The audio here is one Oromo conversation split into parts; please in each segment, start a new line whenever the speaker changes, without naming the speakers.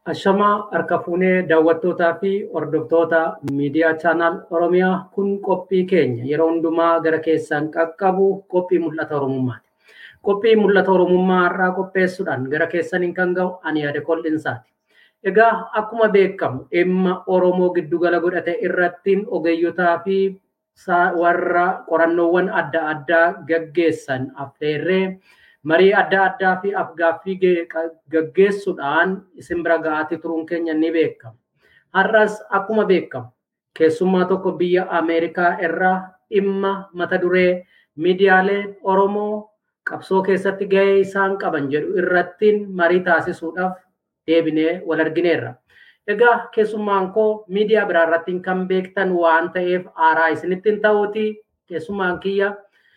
Ashamaa harka fuunee daawwattootaa fi hordoftoota miidiyaa chaanaal Oromiyaa kun qophii keenya yeroo hundumaa gara keessan qaqqabu qophii mul'ata Oromummaati. Qophii mul'ata Oromummaa har'aa qopheessuudhaan gara keessaniin kan gahu ani yaada qol'insaati. Egaa akkuma beekamu dhimma Oromoo giddugala godhate irratti ogeeyyotaa fi warra qorannoowwan adda addaa gaggeessan affeerree marii adda addaa fi afgaaffii gaggeessuudhaan isin bira ga'aatii turuun keenya ni beekama. Har'as akkuma beekamu keessummaa tokko biyya Ameerikaa irraa dhimma mata duree miidiyaaleen Oromoo qabsoo keessatti gahee isaan qaban jedhu irrattiin marii taasisuudhaaf deebinee wal argineerra. Egaa keessummaan koo miidiyaa biraa irratti kan beektan waan ta'eef aaraa isinittiin ta'uuti keessummaan kiyya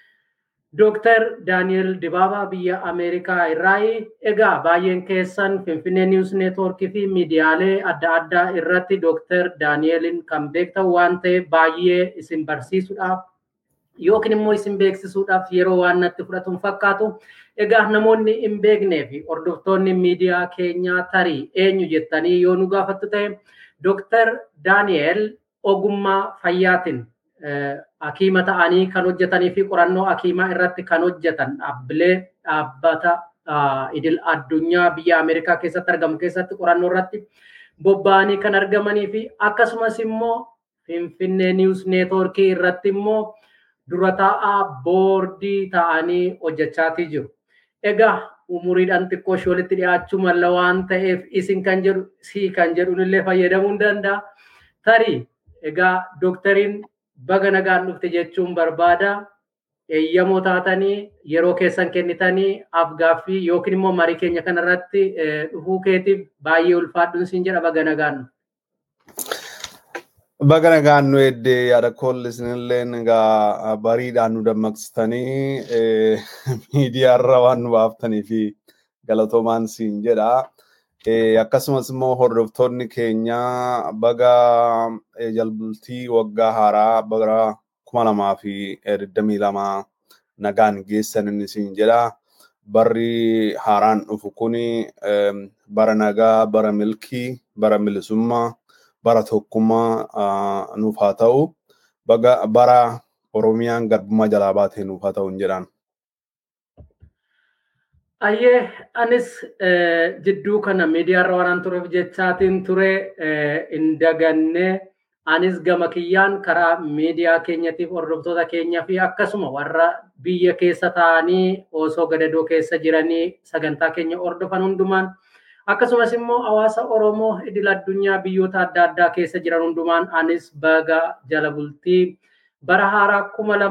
Dr. Daniel Dibaabaa biyya Ameerikaa irraa egaa baay'een keessan Finfinnee News Network fi miidiyaalee adda addaa irratti Dr. Danielin kan beektan waan ta'eef baay'ee isin barsiisuudhaaf yookiin immoo isin beeksisuudhaaf yeroo waan natti fudhatuun fakkaatu. Egaa namoonni hin beeknee fi hordoftoonni miidiyaa keenyaa tarii eenyu jettanii yoo nu gaafattu ta'e Dr. Daniel ogummaa fayyaatiin hakiima ta'anii kan hojjetanii fi qorannoo hakiimaa irratti kan hojjetan dhaabbata idil addunyaa biyya Ameerikaa keessatti argamu keessatti qorannoo irratti bobba'anii kan argamanii fi akkasumas immoo Finfinnee News Network irratti immoo dura taa'aa boordii ta'anii hojjechaatii jiru. Egaa umuriidhaan xiqqoo ishee walitti dhiyaachuu malla waan ta'eef isin kan jedhu kan jedhuun illee fayyadamuu ni danda'a. Tarii egaa doktariin baga nagaan dhufte jechuun barbaada. Eeyyamoo taatanii yeroo keessan kennitanii afgaaffii yookiin immoo marii keenya kanarratti dhufuu keetiif baay'ee ulfaadhuun siin jedha baga nagaan.
Baga nagaan nu eddee yaada kollisinilleen egaa bariidhaan nu dammaqsitanii miidiyaarra waan nu baaftanii fi galatoomaan siin jedha. Akkasumas immoo hordoftoonni keenya baga jalbultii waggaa haaraa bara 2022 nagaan geessan inni siin jedha. Barri haaraan dhufu kuni bara nagaa, bara milkii, bara bilisummaa, bara tokkummaa nuuf haa ta'u. Bara Oromiyaan garbummaa jalaa baatee nuuf haa ta'u jedhaan.
Ayyee anis jidduu kana miidiyaarra waan tureef jechaatiin ture hin daganne anis gama kiyyaan karaa miidiyaa keenyatiif hordoftoota keenyaa fi akkasuma warra biyya keessa ta'anii osoo gadadoo keessa jiranii sagantaa keenya hordofan hundumaan akkasumas immoo hawaasa Oromoo idil addunyaa biyyoota adda addaa keessa jiran hundumaan anis baga jala bultii bara haaraa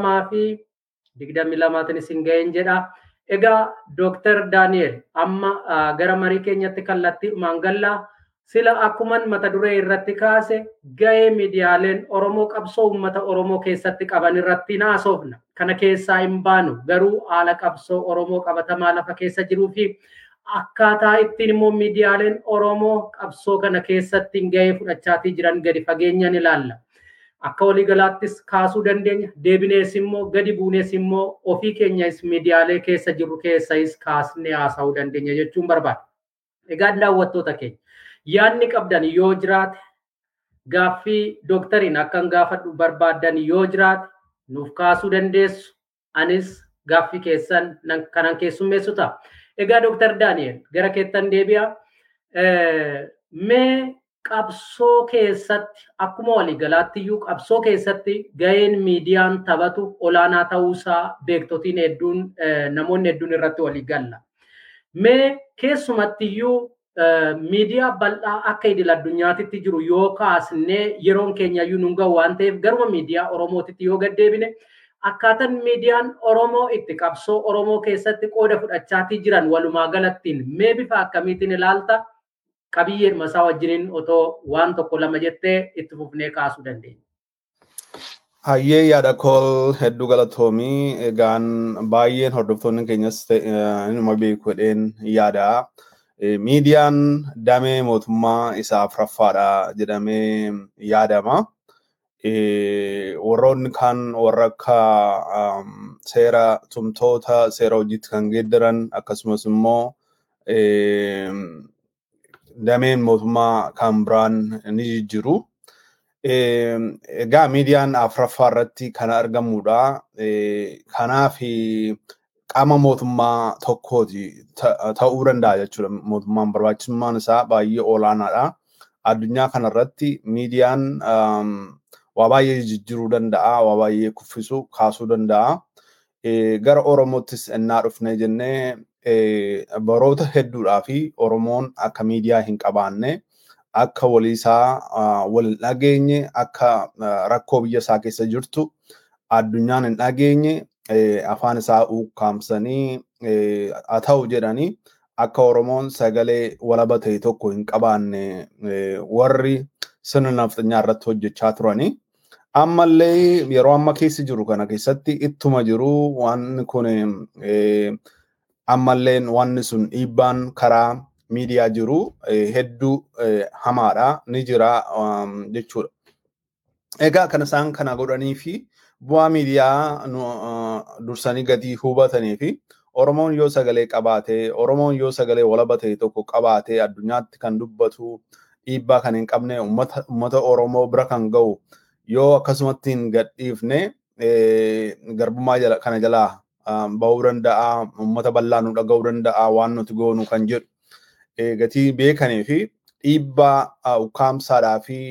2022 isin ga'een jedha. Egaa Dr. Daniel amma gara marii keenyatti kallattiidhumaan galla sila akkuman mata duree irratti kaase ga'ee miidiyaaleen Oromoo qabsoo uummata Oromoo keessatti qaban irratti naasofna. Kana keessaa hin baanu garuu haala qabsoo Oromoo qabatamaa lafa keessa jiruu fi akkaataa ittiin immoo miidiyaaleen Oromoo qabsoo kana keessatti ga'ee fudhachaatii jiran gadi fageenyaan ilaalla. Akka waliigalaattis kaasuu dandeenya. Deebinees immoo gadi buunees immoo ofii keenyas miidiyaalee keessa jiru keessas kaasnee haasa'uu dandeenya jechuun barbaada. Egaa daawwattoota keenya yaadni qabdan yoo jiraate gaaffii doktariin akkan gaafadhu barbaadan yoo jiraate nuuf kaasuu dandeessu. Anis gaaffii keessan kanan keessummeessu ta'a. Egaa Dr. Daniel gara keettan deebi'a. Mee qabsoo keessatti akkuma waliigalaatti iyyuu qabsoo keessatti ga'een miidiyaan taphatu olaanaa ta'uusaa beektotiin hedduun namoonni hedduun irratti walii galla. Mee keessumatti iyyuu miidiyaa bal'aa akka idil addunyaatitti jiru yoo kaasnee yeroon keenya iyyuu nun ga'u waan ta'eef garuma miidiyaa Oromootitti yoo gaddeebine akkaataan miidiyaan Oromoo itti qabsoo Oromoo keessatti qooda fudhachaatii jiran walumaa galattiin mee bifa akkamiitiin ilaalta? Qabiyyeen masaa wajjiniin otoo waan tokko lama jettee itti fufnee kaasuu dandeenya.
Hayyee yaada kol hedduu galatoomii egaan baay'een hordoftoonni keenyas inuma beekuudhaan yaada. Miidiyaan damee mootummaa isaa afuraffaadha jedhamee yaadama. Warroonni kan warra akka seera tumtoota seera hojiitti kan geeddaran akkasumas immoo dameen mootummaa kan biraan ni jijjiiru. Egaa miidiyaan afuraffaa irratti kan argamudha. Kanaaf qaama mootummaa tokkooti ta'uu danda'a jechuudha. Mootummaan barbaachisummaan isaa baay'ee olaanaadha. Addunyaa kanarratti miidiyaan waa baay'ee jijjiiruu danda'a, waa baay'ee kuffisuu kaasuu danda'a. Gara Oromoottis ennaa dhufnee jennee baroota hedduudhaa fi Oromoon akka miidiyaa hin qabaanne, akka waliisaa wal hin dhageenye, akka rakkoo biyya isaa keessa jirtu addunyaan hin dhageenye, afaan isaa ukkaamsanii haa ta'u jedhanii akka Oromoon sagalee walaba ta'e tokko hin qabaanne warri sirna nafxanyaa irratti hojjechaa turanii. Ammallee yeroo amma keessa jiru kana keessatti ittuma jiru waan kun ammallee wanni sun dhiibbaan karaa miidiyaa jiru hedduu hamaadha ni jira jechuudha. Egaa kan isaan kana godhanii fi bu'aa miidiyaa dursanii gadi hubatanii fi Oromoon yoo sagalee qabaate, Oromoon yoo sagalee walaba ta'e tokko qabaate addunyaatti kan dubbatu dhiibbaa kan hin qabne uummata Oromoo bira kan ga'u yoo akkasumatti hin gadhiifne garbummaa kana jalaa bahuu danda'a, uummata bal'aa nu dhaga'uu danda'a, waan nuti goonu kan jedhu gatii beekanii fi dhiibbaa ukkaamsaadhaa fi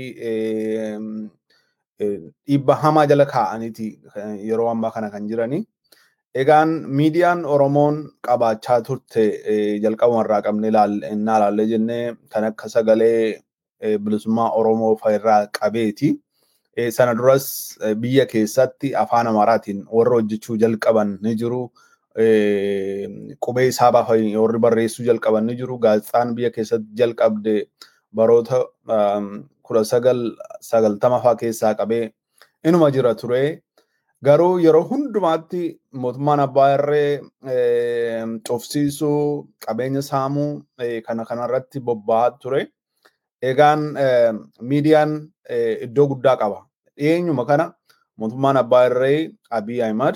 dhiibbaa hamaa jala kaa'aniiti yeroo ammaa kana kan jiranii. Egaan miidiyaan Oromoon qabaachaa turte jalqabuma irraa qabne ilaallee jennee kan akka sagalee bilisummaa Oromoo fa'irraa qabeeti. Sana duras biyya keessatti afaan Amaaraatiin warra hojjechuu jalqaban ni jiru. Qubee isaa baafanii warri barreessuu jalqaban ni jiru. Gaazexaan biyya keessatti jalqabde baroota 1990 fa'aa keessaa qabee inuma jira ture. Garuu yeroo hundumaatti mootummaan abbaa irree cufsiisuu, qabeenya saamuu kana kanarratti bobba'aa ture. Egaan miidiyaan iddoo guddaa qaba. Dhiyeenyuma kana mootummaan abbaa irree Abiy Ahimad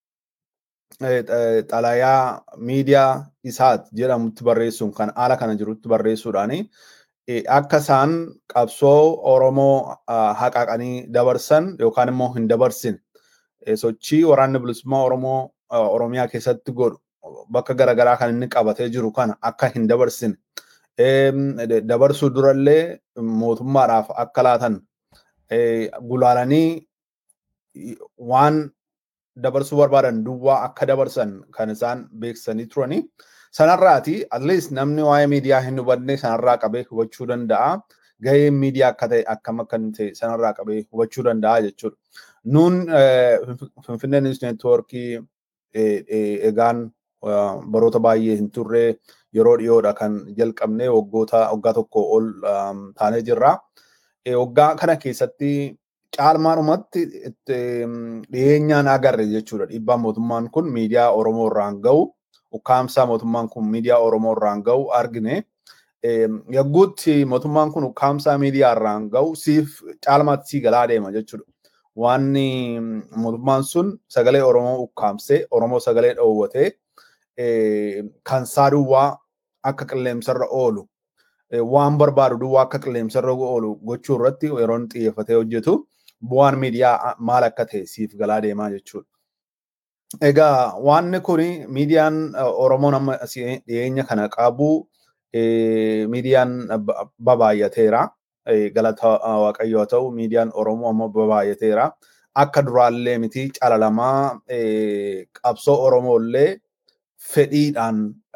xalayaa miidiyaa isaati jedhamutti barreessuun kan haala kana jirutti barreessuudhaani akka isaan qabsoo Oromoo haqaqanii dabarsan yookaan immoo hin dabarsine sochii waraanni bilisummaa Oromoo Oromiyaa keessatti godhu bakka garaagaraa kan inni qabatee jiru kana akka hin dabarsine dabarsuu durallee mootummaadhaaf akka laatan gulaalanii waan dabarsuu barbaadan duwwaa akka dabarsan kan isaan beeksisanii turanii. Sanarraati at least namni waa'ee miidiyaa hin hubanne sanarraa qabee hubachuu danda'a. Gaheen miidiyaa akka ta'e akkam akka ta'e sanarraa qabee hubachuu danda'a jechuudha. Nuun Finfinnee News Networkii egaan baroota baay'ee hin turre yeroo dhiyoodha kan jalqabne waggaa tokko ol taanee jirra. Waggaa kana keessatti caalmaadhumatti dhiyeenyaan agarre jechuudha. Dhiibbaan mootummaan kun miidiyaa Oromoo irraan ga'u, ukkaamsaa mootummaan kun miidiyaa Oromoo irraan ga'u argine. Yagguutti mootummaan kun ukkaamsaa miidiyaa irraan ga'u caalmaatti sii galaa deema jechuudha. Waanni mootummaan sun sagalee Oromoo ukkaamsee, Oromoo sagalee dhoowwatee kan duwwaa akka qilleensarra oolu waan barbaadu duwwaa akka qilleensarra oolu gochuu irratti yeroo xiyyeeffatee hojjetu bu'aan miidiyaa maal akka ta'e siif galaa deemaa jechuudha. Egaa waanni kun miidiyaan Oromoon amma dhiyeenya kana qabu miidiyaan babaayyateera. Galata Waaqayyoo ta'u miidiyaan Oromoo amma babaayyateera. Akka duraallee miti calalamaa qabsoo Oromoollee fedhiidhaan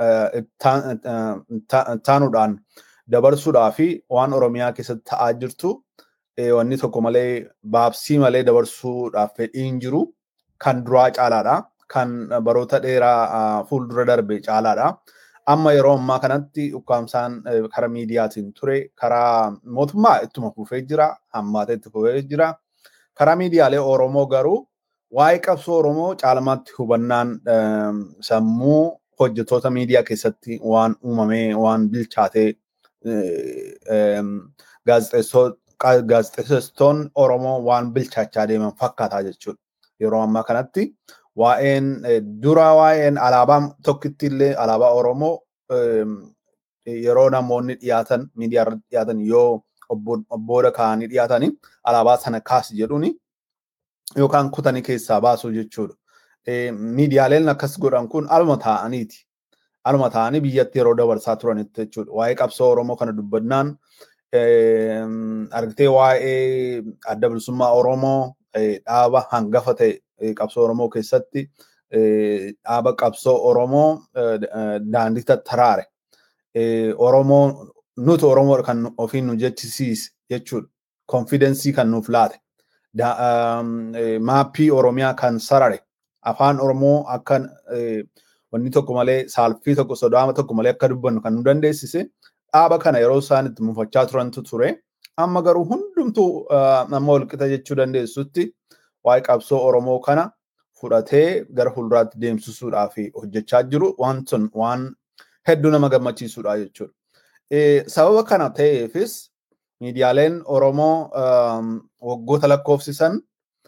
taanuudhaan dabarsuudhaa fi waan Oromiyaa keessatti ta'aa jirtu wanni tokko malee baabsii malee dabarsuudhaaf fedhiin jiru kan duraa caalaadha. Kan baroota dheeraa fuuldura darbe caalaadha. Amma yeroo ammaa kanatti ukkaamsaan karaa miidiyaatiin ture karaa mootummaa ittuma fufee jira, hammaatee itti fufee jira. Karaa miidiyaalee Oromoo garuu waa'ee qabsoo Oromoo caalmaatti hubannaan sammuu hojjettoota miidiyaa keessatti waan uumamee waan bilchaatee gaazexeessitoonni Oromoo waan bilchaachaa deeman fakkaataa jechuudha. Yeroo ammaa kanatti waa'een alaabaa tokkitti illee alaabaa Oromoo yeroo namoonni dhiyaatan miidiyaa irratti dhiyaatan yoo obboodha kaa'anii dhiyaatanii alaabaa sana kaasi jedhuuni yookaan kutanii keessaa baasuu jechuudha. Miidiyaaleen akkas godhan kun aluma ta'aniiti. Aluma ta'anii biyyatti yeroo dabarsaa turanitti jechuudha. Waa'ee qabsoo Oromoo kana dubbannaan argitee waa'ee adda bilisummaa Oromoo dhaaba hangafa ta'e qabsoo Oromoo keessatti dhaaba qabsoo Oromoo daandii tattaraare. Oromoo nuti Oromoo kan ofiin nu jechisiise jechuudha. Konfidensii kan nuuf laate. Maappii Oromiyaa kan sarare. Afaan Oromoo akka wanni tokko malee saalfii tokko sodaama tokko malee akka dubbannu kan nu dandeessise dhaaba kana yeroo isaan itti mufachaa turantu ture. Amma garuu hundumtuu amma walqixa jechuu dandeessutti waa'ee qabsoo Oromoo kana fudhatee gara fuulduraatti deemsisuudhaaf hojjechaa jiru. Waan sun waan hedduu nama gammachiisuudha jechuudha. Sababa kana ta'eefis miidiyaaleen Oromoo waggoota lakkoofsisan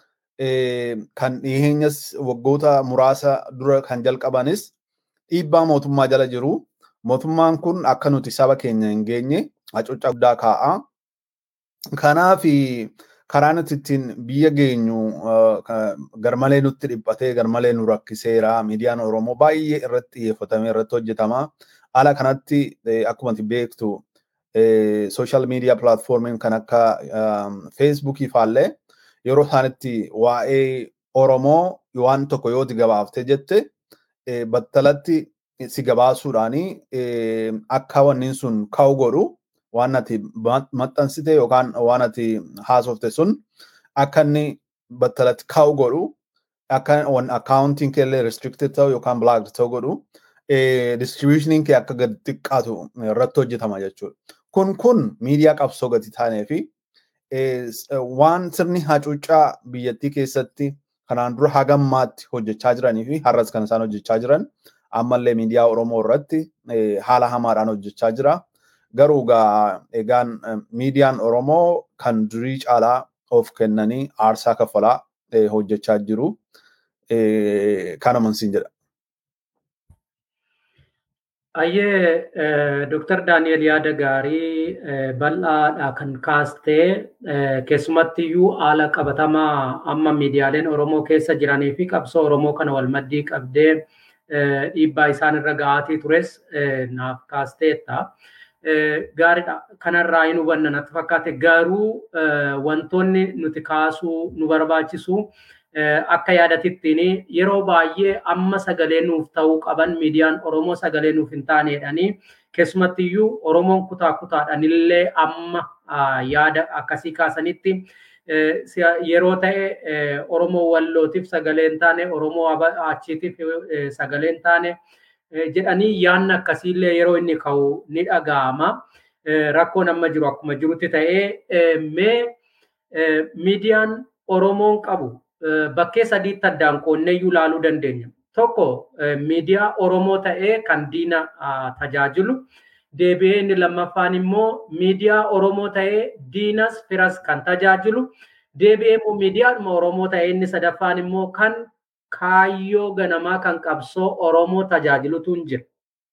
kan dhiheenyas waggoota muraasa dura kan jalqabanis dhiibbaa mootummaa jala jiru. Mootummaan kun akka nuti saba keenya hin geenye hacuuccaa guddaa kaa'a. Kanaaf karaa nuti ittiin biyya geenyu garmalee nutti dhiphatee garmalee nu rakkiseera. Miidiyaan Oromoo baay'ee irratti xiyyeeffatamee irratti hojjetama. Haala kanatti akkuma beektu social media platformiin kan akka Facebookii faallee yeroo isaanitti waa'ee Oromoo waan tokko yoo gabaaftee jette battalatti si gabaasuudhaani akka wanni sun ka'u godhu waan ati maxxansite yookaan waan ati haasofte sun akka inni battalatti ka'u godhu akka accounting keellee restricted ta'u yookaan blocked ta'u godhu distributioning kee akka gadi xiqqaatu irratti hojjetama jechuudha. Kun miidiyaa qabsoo gadi taanee fi waan sirni hacuuccaa biyyattii keessatti kanaan dura hagammaatti hojjechaa jiranii fi har'as kan isaan hojjechaa jiran ammallee miidiyaa Oromoo irratti haala hamaadhaan hojjechaa jira. Garuu egaan miidiyaan Oromoo kan durii caalaa of kennanii aarsaa kaffalaa hojjechaa jiru. Kanuma siin jedha.
Ayyee Dr. Daani'el yaada gaarii bal'aadha kan kaastee keessumattiyyuu haala qabatamaa amma miidiyaaleen Oromoo keessa jiranii fi qabsoo Oromoo kana wal maddii qabdee dhiibbaa isaan irra ga'aatii tures naaf kaasteetta. Gaariidha. Kanarraa hin hubanna natti fakkaate garuu wantoonni nuti kaasuu nu barbaachisu akka yaadatittiin yeroo baay'ee amma sagalee nuuf ta'uu qaban miidiyaan Oromoo sagalee nuuf hin taaneedhani. Keessumattiyyuu Oromoon kutaa kutaadhaan illee amma yaada akkasii kaasanitti yeroo ta'e Oromoo Wallootiif sagalee hin taane Oromoo achiitiif sagalee hin taane jedhanii yaanna akkasiillee yeroo inni ka'u ni dhaga'ama. Rakkoon amma jiru akkuma jirutti ta'ee miidiyaan Oromoon qabu bakkee sadiitti addaan qoonneeyyuu ilaaluu dandeenya. Tokko miidiyaa Oromoo ta'ee kan diina tajaajilu. Deebi'ee inni lammaffaan immoo miidiyaa Oromoo ta'ee diinas firas kan tajaajilu. Deebi'ee immoo miidiyaa Oromoo ta'ee inni sadaffaan immoo kan kaayyoo ganamaa kan qabsoo Oromoo tajaajilutu hin jiru.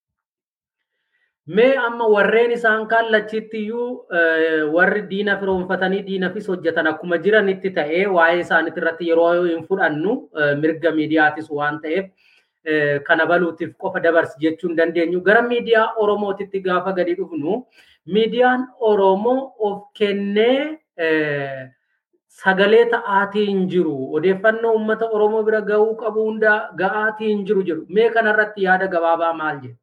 Mee amma warreen isaan kallachittiyuu warri diina firoonfatanii diinafis hojjetan akkuma jiranitti ta'ee waa'ee isaaniitti irratti yeroo hin fudhannu mirga miidiyaatis waan ta'eef kana baluutiif qofa dabarsi jechuu hin dandeenyu. Gara miidiyaa Oromootitti gaafa gadi dhufnu miidiyaan Oromoo of kennee sagalee ta'aatii hin jiru. Odeeffannoo uummata Oromoo bira gahuu qabu hunda ga'aatii hin jiru jedhu. Mee kanarratti yaada gabaabaa maal jedhu?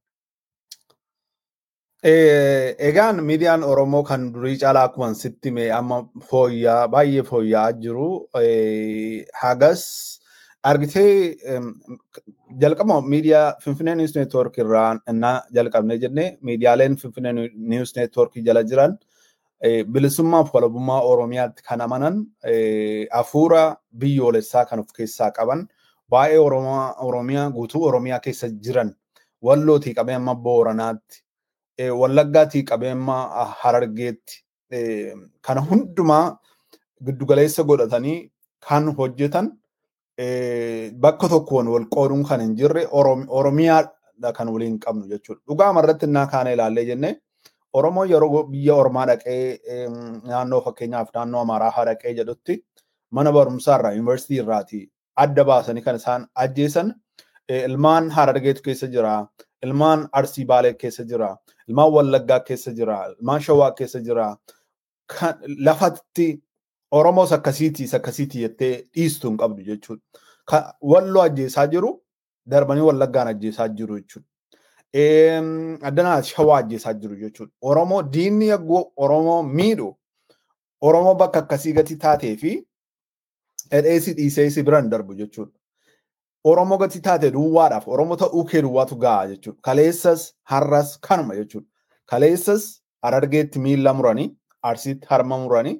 Egaan miidiyaan Oromoo kan durii caalaa akkuma sitti mee amma baay'ee fooyya'aa jiru. Hagas argitee jalqaba miidiyaa Finfinnee News Network irraa innaa jalqabne jennee miidiyaaleen Finfinnee News Network jala jiran bilisummaa fi walabummaa Oromiyaatti kan amanan hafuura biyyoolessaa kan of keessaa qaban baay'ee Oromiyaa guutuu Oromiyaa keessa jiran Wallootii qabee amma Booranaatti Wallaggaatii qabee amma Harargeetti kana hundumaa giddugaleessa godhatanii kan hojjetan bakka tokkoon wal qooduun kan hin jirre Oromiyaa kan waliin qabnu jechuudha. Dhugaa marratti innaa kaane ilaallee jennee Oromoo yeroo biyya ormaa dhaqee naannoo fakkeenyaaf naannoo Amaaraa dhaqee jedhutti mana barumsaa irraa yuunivarsiitii irraati adda baasanii kan isaan ajjeesan ilmaan Harargeetu keessa jira, ilmaan Arsii Baalee keessa jira, ilmaan Wallaggaa keessa jira, ilmaan Shawaa keessa jira. Lafatti Oromoos akkasiiti jettee dhiistuu hin qabdu jechuudha. Walloo ajjeesaa jiru darbanii Wallaggaan ajjeesaa jiru jechuudha. Addanaa Shawaa ajjeesaa jiru jechuudha. Oromoo diinni yaggoo Oromoo miidhu Oromoo bakka akkasii gati taatee fi dheedheessi dhiisee biraan darbu jechuudha. Oromoo gati taate duwwaadhaaf Oromoo ta'uu kee duwwaatu gahaa jechuudha. Kaleessas har'as kanuma jechuudha. Kaleessas Harargeetti miila muranii, Arsiitti harma muranii,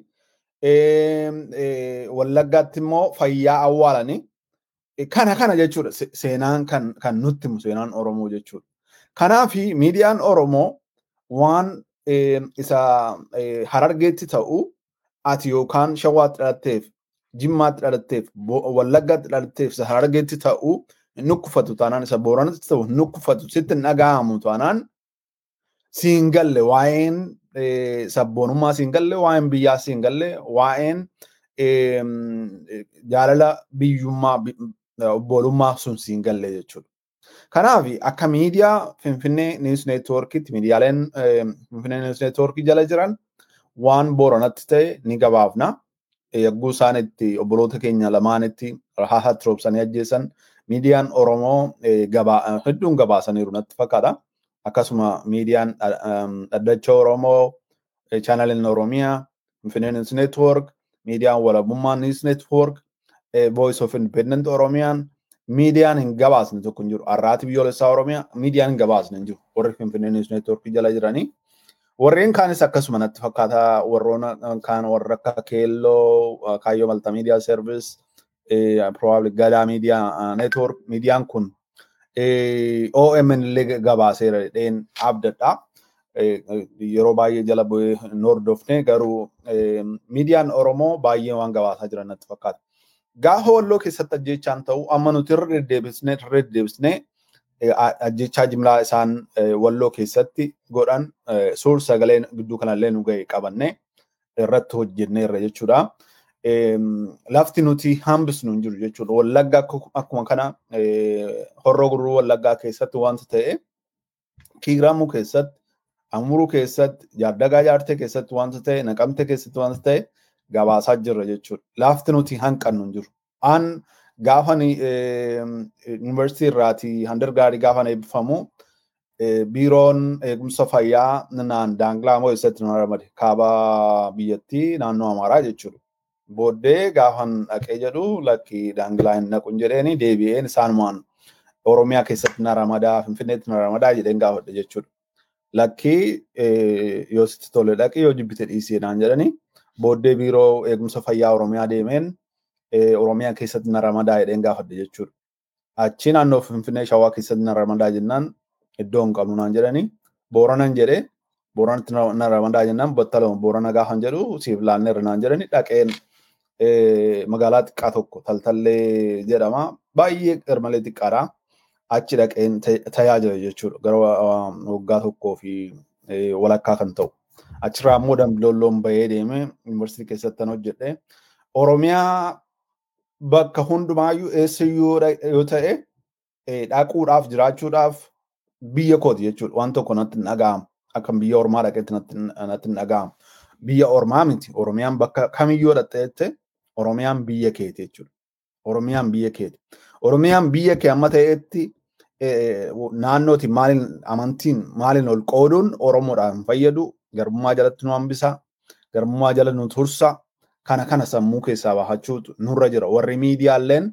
Wallaggaatti immoo fayyaa awwaalanii kana jechuudha. Seenaan kan nutti himu seenaan Oromoo jechuudha. Kanaaf miidiyaan Oromoo waan isa Harargeetti ta'u ati yookaan Shawaatti dhalatteef Jimmaatti dhalatteef Wallaggaatti dhalatteef isa Harargeetti ta'u nukkufatu taanaan isa Booranatti ta'u nukkufatu sitti hin dhaga'amu taanaan siin galle waa'een sabboonummaa siin galle waa'een biyyaa siin galle waa'een jaalala biyyummaa obbolummaa sun siin galle jechuudha. Kanaaf akka miidiyaa Finfinnee News Networkitti miidiyaaleen Finfinnee News Networkii jala jiran waan Booranatti ta'e ni gabaafna. Yagguu isaan itti obboloota keenya lamaanitti haahatti roobsanii ajjeesan miidiyaan Oromoo hedduun gabaasaniiru natti fakkaata. Akkasuma miidiyaan Dhaddacha Oromoo, chaanaliin Oromiyaa, Finfinnee News Network, miidiyaan Walabummaa News Network, Voice of Independent Oromiyaan, miidiyaan hin gabaasne tokko hin jiru. Arraati biyyoolessaa Oromiyaa miidiyaan hin gabaasne hin jiru. Warri Finfinnee News Network jala jiranii. Warreen kaanis akkasuma natti fakkaata warroona kaan warra akka Keelloo, Kaayyoo Maltimedia Service, probably Gadaa Media Network miidiyaan kun OMN illee gabaaseera dheen abdadha. Yeroo baay'ee jala bu'ee hordofne garuu miidiyaan Oromoo baay'ee waan gabaasaa jiran natti fakkaata. Gaafa Walloo keessatti ajjechaan ta'u amma nuti irra deddeebisnee ajjechaa jimlaa isaan Walloo keessatti godhan suur sagalee gidduu kanallee nu ga'e qabanne irratti hojjenneerra jechuudha. Lafti nuti hambisnu hin jiru jechuudha. Wallaggaa akkuma kana Horroo Guduruu Wallaggaa keessatti wanta ta'e Kiiramuu keessatti Amuruu keessatti Jaardagaa Jaartee keessatti wanta ta'e Naqamtee keessatti wanta ta'e gabaasaa jirra jechuudha. Lafti nuti hanqannu hin jiru. Gaafan yuunivarsiitii irraati handargaarii gaafan eebbifamu biiroon eegumsa fayyaa daanglaa moo eessatti nu ramade kaaba biyyattii naannoo Amaaraa jechuudha. Booddee gaafan dhaqee jedhu lakki daanglaa hin naqun jedheeni deebi'een isaanumaan Oromiyaa keessatti na ramadaa Finfinneetti na ramadaa jedheen gaafadhe jechuudha. Lakki yoo sitti tole dhaqi yoo jibbite dhiisee naan jedhani booddee biiroo eegumsa fayyaa Oromiyaa deemeen Oromiyaa keessatti na ramadaa jedheen gaafadhe jechuudha. Achi naannoo Finfinnee Shawaa keessatti na ramadaa jennaan iddoo hin qabnu naan jedhani Booranan jedhee Booranatti na ramadaa jennaan battaluma Boorana gaafan jedhu siif laanneerra naan jedhani dhaqeen magaalaa xiqqaa tokko Taltallee jedhama baay'ee garmalee xiqqaadha. Achi dhaqeen tajaajila jechuudha gara waggaa tokkoo fi walakkaa kan ta'u. Achirraa immoo Dambidoolloon bahee deeme yuunivarsiitii keessatti hojjedhe. Oromiyaa bakka hundumaayyuu eessayyuu yoo ta'e dhaquudhaaf jiraachuudhaaf biyya kooti jechuudha. Waan tokko natti hin dhaga'amu. Akkam biyya ormaa dhaqetti natti hin dhaga'amu. Biyya ormaa miti. Oromiyaan bakka kamiyyuu dhaqxeette Oromiyaan biyya keeti jechuudha. Oromiyaan biyya keeti. Oromiyaan biyya kee amma ta'etti naannooti maaliin amantiin maaliin ol qooduun Oromoodhaan fayyadu garbummaa jalatti nu hambisa. Garbummaa jala nu tursa. Kana sammuu keessaa bahachuutu nurra jira. Warri miidiyaaleen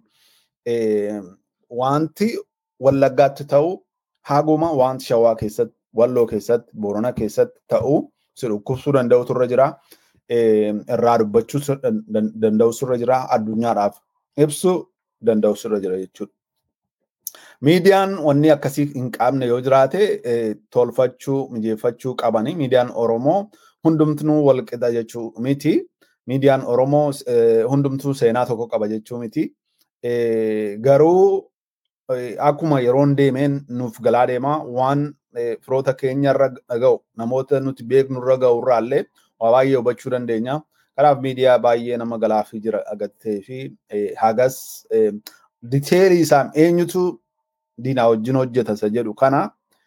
wanti Wallaggaatti ta'u haguma wanti Shawaa keessatti, Walloo keessatti, Boorana keessatti ta'u si dhukkubsuu danda'utu irra jira. Irraa dubbachuu danda'utu irra jira. Addunyaadhaaf ibsuu danda'utu irra jira jechuudha. Miidiyaan wanni akkasii hin qabne yoo jiraate tolfachuu, mijeeffachuu qabani. Miidiyaan Oromoo hundumtuu wal qixa jechuu miti. Miidiyaan Oromoo hundumtuu seenaa tokko qaba jechuu miti. Garuu akkuma yeroon deemeen nuuf galaa deema waan firoota keenya irra ga'u namoota nuti beeknu irra ga'u irraallee waa baay'ee hubachuu dandeenya. Kanaaf miidiyaa baay'ee nama galaafii jira agartee fi hagas diteelii isaan eenyutu diinaa wajjin hojjeta isa jedhu kana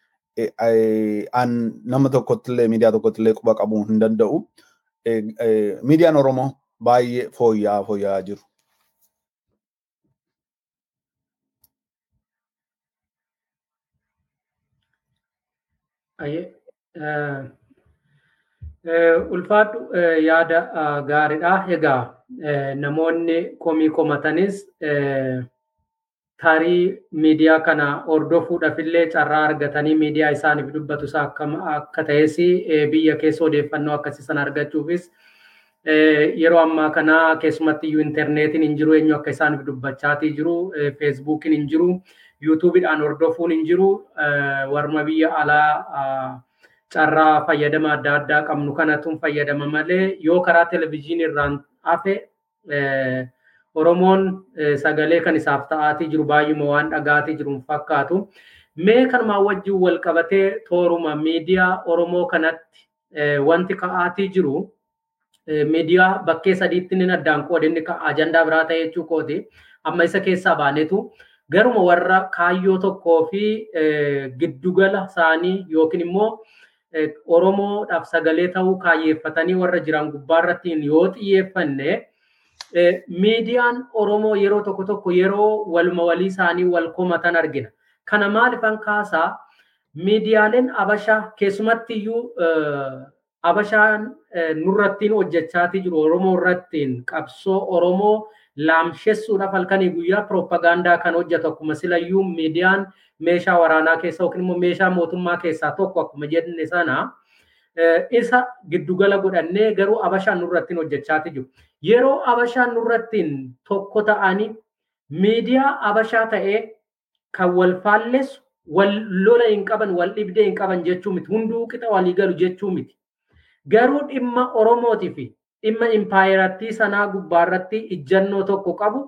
an nama tokkottillee miidiyaa tokkottillee quba qabuu hin danda'u. Miidiyaan Oromoo baay'ee fooyya'aa jiru.
Ulfaadhu yaada gaariidha. Egaa namoonni komii komatanis tarii miidiyaa kana hordofuudhaaf illee carraa argatanii miidiyaa isaaniif dubbatu isaa akka ta'es biyya keessa odeeffannoo akkasii sana argachuufis yeroo ammaa kana keessumatti iyyuu intarneetiin hin jiru eenyu akka isaaniif dubbachaatii jiru feesbuukiin hin jiru yuutuubiidhaan hordofuun hin jiru warma biyya alaa carraa fayyadama adda addaa qabnu kanatu fayyadama malee yoo karaa televezyiinii irraan hafe Oromoon sagalee kan isaaf ta'aatii jiru baay'uma waan dhagaatii jiru fakkaatu. Mee kanumaa wajjin wal qabatee tooruma miidiyaa Oromoo kanatti wanti ka'aatii jiru miidiyaa bakkee sadiitti ni addaan qoode inni ajandaa biraa ta'e jechuu kooti. Amma isa keessaa baanetu garuma warra kaayyoo tokkoo fi giddugala isaanii yookiin immoo Oromoodhaaf sagalee ta'uu kaayyeeffatanii warra jiran gubbaarratti yoo xiyyeeffanne miidiyaan Oromoo yeroo tokko yeroo waluma walii isaanii wal komatan argina. Kana maalifan kaasaa miidiyaaleen Abashaa keessumatti iyyuu Abashaan nurrattiin hojjechaatii jiru Oromoo irrattiin qabsoo Oromoo laamshessuudhaaf halkanii guyyaa propagaandaa kan hojjetu akkuma silayyuu miidiyaan meeshaa waraanaa keessa yookiin immoo meeshaa mootummaa keessaa tokko akkuma jenne sana isa giddugala godhannee garuu Abashaan nurrattiin hojjechaatii jiru. Yeroo Abashaan nurrattiin tokko ta'anii miidiyaa Abashaa ta'ee kan wal faalleessu wal lola hin qaban wal dhibdee hin qaban jechuu miti hunduu qixa walii galu jechuu miti. Garuu dhimma Oromootii fi dhimma impaayiraattii sanaa gubbaarratti ijjannoo tokko qabu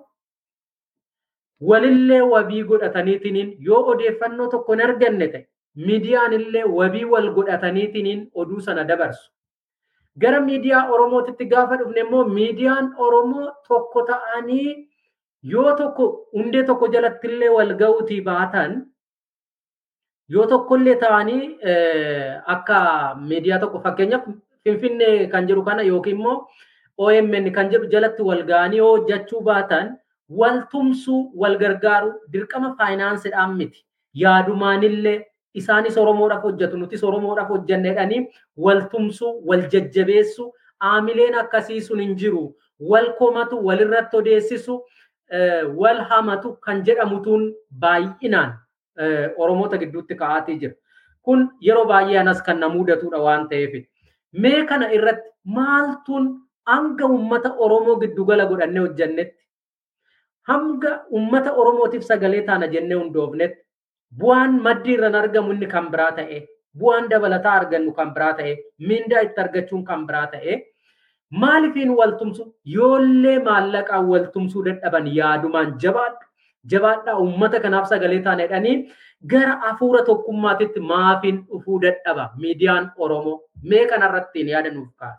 walillee wabii godhataniitiin yoo odeeffannoo tokko hin arganne ta'e miidiyaan illee wabii wal godhataniitiin oduu sana dabarsu. Gara miidiyaa Oromootitti gaafa dhufne immoo miidiyaan Oromoo tokko ta'anii yoo tokko hundee tokko jalatti illee wal ga'uutii baatan yoo tokkollee ta'anii akka miidiyaa tokko fakkeenyaaf Finfinnee kan jiru kana yookiin immoo OMN kan jiru jalatti wal ga'anii yoo hojjechuu baatan wal tumsuu wal gargaaru dirqama faayinaansiidhaan miti yaadumaanillee isaanis Oromoodhaaf hojjetu nutis Oromoodhaaf hojjenneedhanii wal tumsuu wal jajjabeessu aamileen akkasii sun hin jiru wal komatu walirratti odeessisu wal hamatu kan jedhamutuun baay'inaan Oromoota gidduutti ka'aatii jira. Kun yeroo baay'ee anas kan na mudatudha waan ta'eef. Mee kana irratti maaltuun hanga uummata Oromoo giddugala godhannee hojjennetti hanga uummata Oromootiif sagalee taana jennee hundoofnetti bu'aan maddii irraan argamu inni kan biraa ta'e bu'aan dabalataa argannu kan biraa ta'e mindaa itti argachuun kan biraa ta'e maalifiin wal tumsu yoollee maallaqaan wal tumsuu dadhaban yaadumaan jabaadhaa uummata kanaaf sagalee taana jedhanii gara hafuura tokkummaatitti maafiin dhufuu dadhaba miidiyaan Oromoo mee kanarrattiin yaada nuuf kaasa.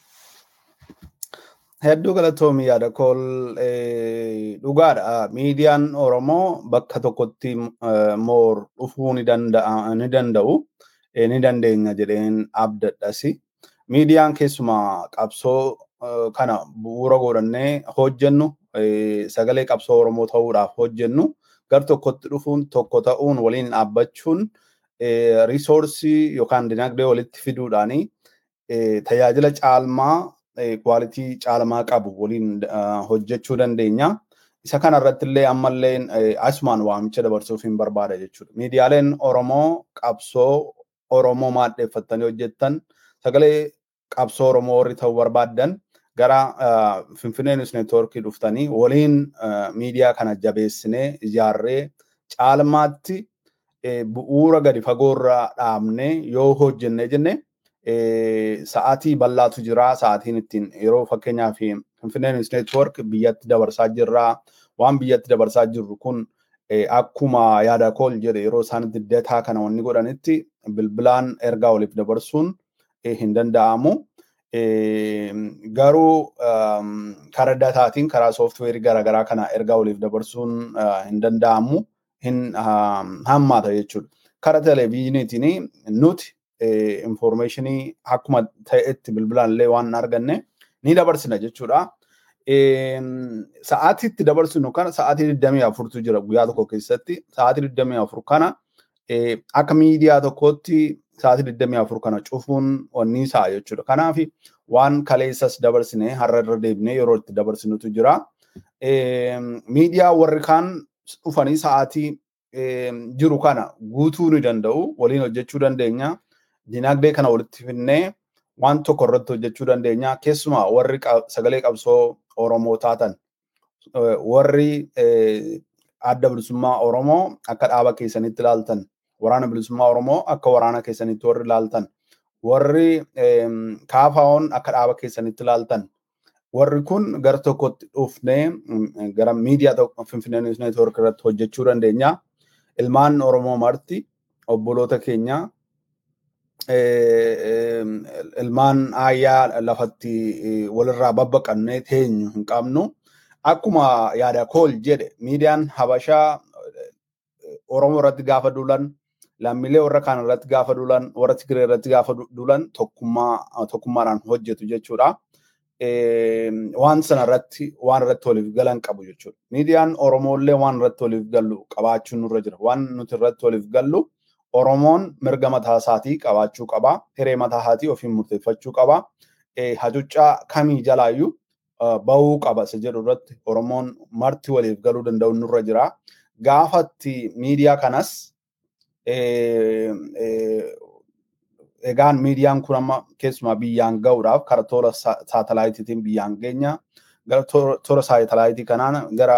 Hedduu galatoomii yaada kool dhugaadha. Miidiyaan Oromoo bakka tokkotti moor dhufuu ni danda'u ni dandeenya jedheen abdadhasi. Miidiyaan keessumaa qabsoo kana bu'uura godhannee hojjennu sagalee qabsoo Oromoo ta'uudhaaf hojjennu gar tokkotti dhufuun tokko ta'uun waliin dhaabbachuun riisoorsii yookaan dinagdee walitti fiduudhaanii tajaajila caalmaa kwaalitii caalmaa qabu waliin hojjechuu dandeenya. Isa kana irratti illee ammallee asumaan waamicha dabarsuuf hin barbaada jechuudha. Miidiyaaleen Oromoo qabsoo Oromoo maaddeeffatanii hojjettan sagalee qabsoo Oromoo warri ta'uu barbaadan gara Finfinnee News Network dhuftanii waliin miidiyaa kana jabeessinee ijaarree caalmaatti bu'uura gadi fagoorraa dhaabnee yoo hojjenne jenne sa'aatii bal'aatu jira sa'aatiin ittiin yeroo fakkeenyaaf Finfinnee News Network biyyatti dabarsaa jirra waan biyyatti dabarsaa jirru kun akkuma yaada kool jedhe yeroo isaan dataa kana wanni godhanitti bilbilaan ergaa waliif dabarsuun hin danda'amu. Garuu karaa dataatiin karaa sooftiweerii garaagaraa kana ergaa waliif dabarsuun hin danda'amu, hin hammaata jechuudha. Karaa televezyiiniitiin nuti informationii akkuma ta'etti bilbilaan illee waan arganne ni dabarsina jechuudha. Sa'aatiitti dabarsinu kana sa'aatii 24tu jira guyyaa tokko keessatti. Sa'aatii 24 kana akka miidiyaa tokkootti sa'aatii 24 kana cufuun wanni isaa jechuudha. Kanaaf waan kaleessas dabarsine har'a irra deebinee yeroo itti dabarsinutu jira. Miidiyaa warri kaan dhufanii sa'aatii jiru kana guutuu ni danda'u, waliin hojjechuu dandeenya. Dinagdee kana walitti finnee waan tokko irratti hojjechuu dandeenya. Keessumaa warri sagalee qabsoo Oromoo taatan warri adda bilisummaa Oromoo akka dhaaba keessanitti ilaaltan, waraana bilisummaa Oromoo akka waraana keessanitti warri ilaaltan, warri kaafaa'oon akka dhaaba keessanitti ilaaltan, warri kun gara tokkotti dhufnee gara miidiyaa tokko Finfinnee News Network irratti hojjechuu dandeenya. Ilmaan Oromoo marti obboloota keenya ilmaan ayyaa lafatti walirraa babbaqannee teenyu hin qabnu. Akkuma yaada kool jedhe miidiyaan Habashaa Oromoo irratti gaafa duulan, lammiilee warra kaan irratti gaafa duulan, warra Tigiree irratti gaafa duulan tokkummaadhaan hojjetu jechuudha. Waan sana irratti waan irratti waliif galan qabu jechuudha. Miidiyaan Oromoo illee waan irratti waliif gallu qabaachuun nurra jira. Waan nuti irratti waliif gallu Oromoon mirga mataa isaatii qabaachuu qaba. Hiree mataa isaatii ofiin murteeffachuu qaba. Hacuuccaa kamii jalaayyuu bahuu qaba isa jedhu irratti Oromoon marti waliif galuu danda'u nurra jira. Gaafatti miidiyaa kanas egaan miidiyaan kun amma keessumaa biyyaan ga'uudhaaf karaa toora saatalaayitiitiin biyyaan geenya. Gara toora saatalaayitiitii kanaan gara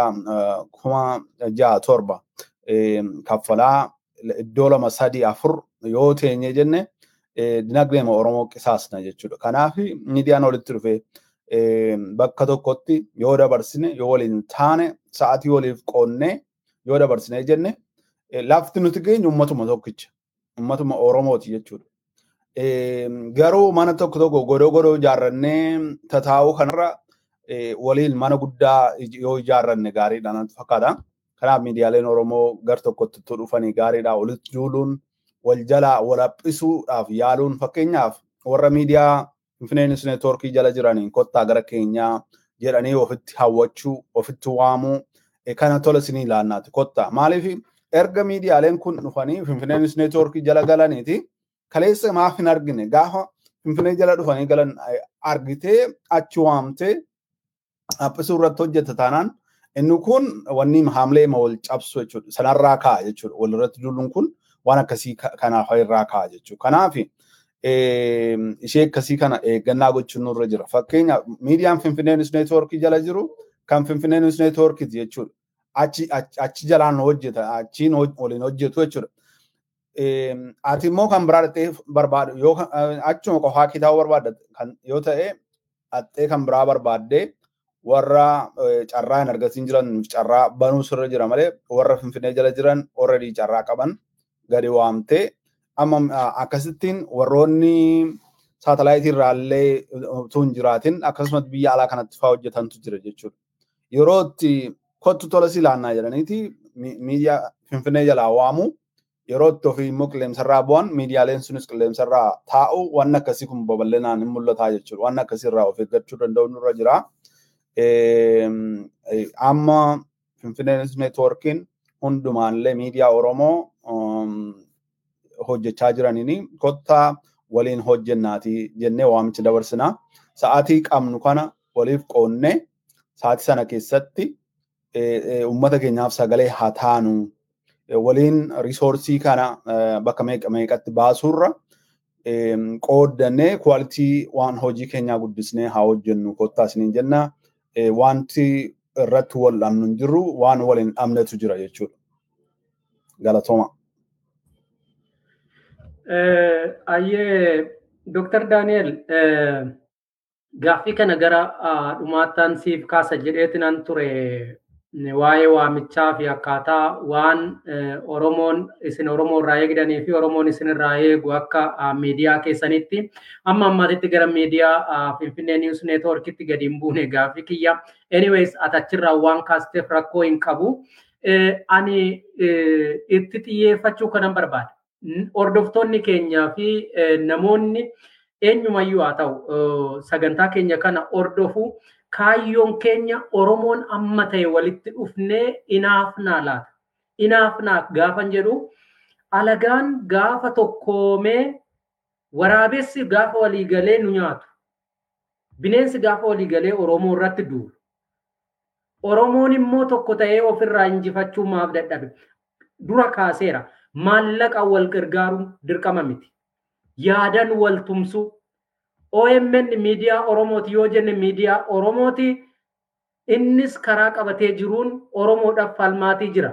6,700 kaffalaa iddoo 2-3-4 yoo teenye jenne dinagdeema Oromoo qisaasna jechuudha. Kanaaf miidiyaan walitti dhufee bakka tokkotti yoo dabarsine, yoo waliin taane, sa'aatii waliif qoonnee yoo dabarsine jenne lafti nuti geenyu ummatuma tokkicha, ummatuma Oromooti jechuudha. Garuu mana tokko godoo ijaarrannee tataa'uu kanarra waliin mana guddaa yoo ijaarranne gaariidha natti fakkaata. Kanaaf miidiyaaleen Oromoo gar tokkotti dhufanii gaariidha. Walitti duuluun, wal jalaa wal haphisuudhaaf yaaluun fakkeenyaaf warra miidiyaa Finfinnee News Network jala jiraniin kottaa gara keenyaa jedhanii ofitti hawwachuu, ofitti waamuu kana tola isinii ilaannaati kottaa. Maaliif erga miidiyaaleen kun dhufanii Finfinnee News Network jala galaniiti kaleessa maaf hin argine gaafa Finfinnee jala dhufanii galan argitee achi waamtee haphisuu irratti hojjeta taanaan inni kun wanni haamlee ma wal cabsu jechuudha. Sanarraa ka'a jechuudha. Walirratti duuluun kun waan akkasii kanaaf irraa ka'a jechuudha. Kanaaf ishee akkasii kana eeggannaa gochuun nurra jira. Fakkeenyaaf miidiyaan Finfinnee News Network jala jiru kan Finfinnee News Network jechuudha. Achi jalaan hojjeta, achiin waliin hojjetu jechuudha. Ati immoo kan biraa dhattee barbaadu yoo achuma qofaa kitaaba barbaadde yoo ta'e dhattee kan biraa barbaaddee warra carraa hin argatiin jiran carraa banuu sirra jira malee warra Finfinnee jala jiran already carraa qaban gadi waamtee amma akkasittiin warroonni saatalaayitii irraallee utuu hin jiraatin akkasumas biyya alaa kanatti fa'aa hojjetantu jira jechuudha. Yeroo itti kottu tola si ilaannaa jedhaniiti miidiyaa Finfinnee jalaa waamu yeroo itti ofii immoo qilleensarraa bu'an miidiyaaleen sunis qilleensarraa taa'u waan akkasii kun babal'inaan hin mul'ataa jechuudha. Waan akkasii irraa of eeggachuu danda'u nurra jira. Amma Finfinnee News Networkiin hundumaallee miidiyaa Oromoo hojjechaa jiraniin kottaa waliin hojjennaati jennee waamicha dabarsina. Sa'aatii qabnu kana waliif qoonnee sa'aatii sana keessatti uummata keenyaaf sagalee haa taanu. Waliin risoorsii kana bakka meeqatti baasuurra qooddannee kwaalitii waan hojii keenyaa guddisnee haa hojjennu kottaa isiniin jenna. Wanti irratti wal dhabnu hin jirru waan waliin dhabnetu jira jechuudha. Galatooma.
Ayyee Dr. Daniel gaaffii kana gara dhumaattaan siif kaasa jedheetiin an ture waa'ee waamichaa fi akkaataa waan Oromoon isin Oromoo irraa eegdanii fi Oromoon isin irraa eegu akka miidiyaa keessanitti amma ammaatitti gara miidiyaa Finfinnee News Networkitti gadi hin buune gaaffii kiyya. Anyways atachirraa waan kaasteef rakkoo hin qabu. Ani itti xiyyeeffachuu kanan barbaada. Hordoftoonni keenyaa fi namoonni eenyumayyuu haa ta'u sagantaa keenya kana hordofuu kaayyoon keenya Oromoon amma ta'e walitti dhufnee inaafnaa laata. Inaafnaa gaafan jedhu alagaan gaafa tokkoomee waraabessi gaafa waliigalee nu nyaatu. Bineensi gaafa waliigalee Oromoo irratti duulu. Oromoon immoo tokko ta'ee ofirraa injifachuu maaf dadhabe. Dura kaaseera. Maallaqa wal gargaaruun dirqama miti. Yaadan wal tumsu. OMN miidiyaa Oromooti yoo jenne miidiyaa Oromooti innis karaa qabatee jiruun Oromoodhaaf falmaatii jira.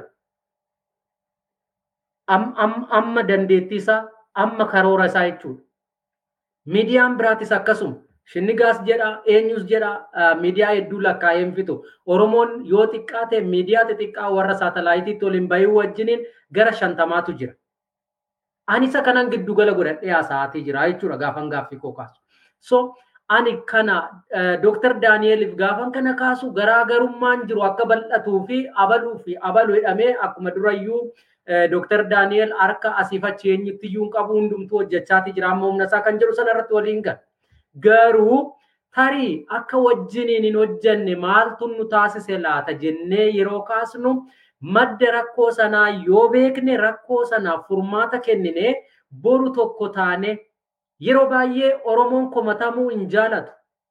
Amma dandeettii isaa amma karoora isaa jechuudha. Miidiyaan biraatis akkasuma. Shinnigaas jedha eenyus jedha miidiyaa hedduu lakkaa'ee hin fitu. Oromoon yoo xiqqaate miidiyaa xixiqqaa warra saatalaayitiitti waliin bahuu wajjiniin gara 50tu jira. Ani isa kanan giddugala godhadhee haasa'aatii jira jechuudha gaafan gaaffii koo kaasu. So ani kana Dr. Danieliif gaafan kana kaasu garaagarummaan jiru akka bal'atuu fi abaluu jedhamee akkuma durayyuu Dr. Daniel harka asiif achi eenyutti iyyuu hin qabu hundumtuu hojjechaatii jira amma humna isaa kan jedhu sanarratti waliin gala. Garuu tarii akka wajjiniin hin hojjenne maaltu nu taasise laata jennee yeroo kaasnu madda rakkoo sanaa yoo beekne rakkoo sanaaf furmaata kennine boru tokko taane yeroo baay'ee Oromoon komatamuu hin jaalatu.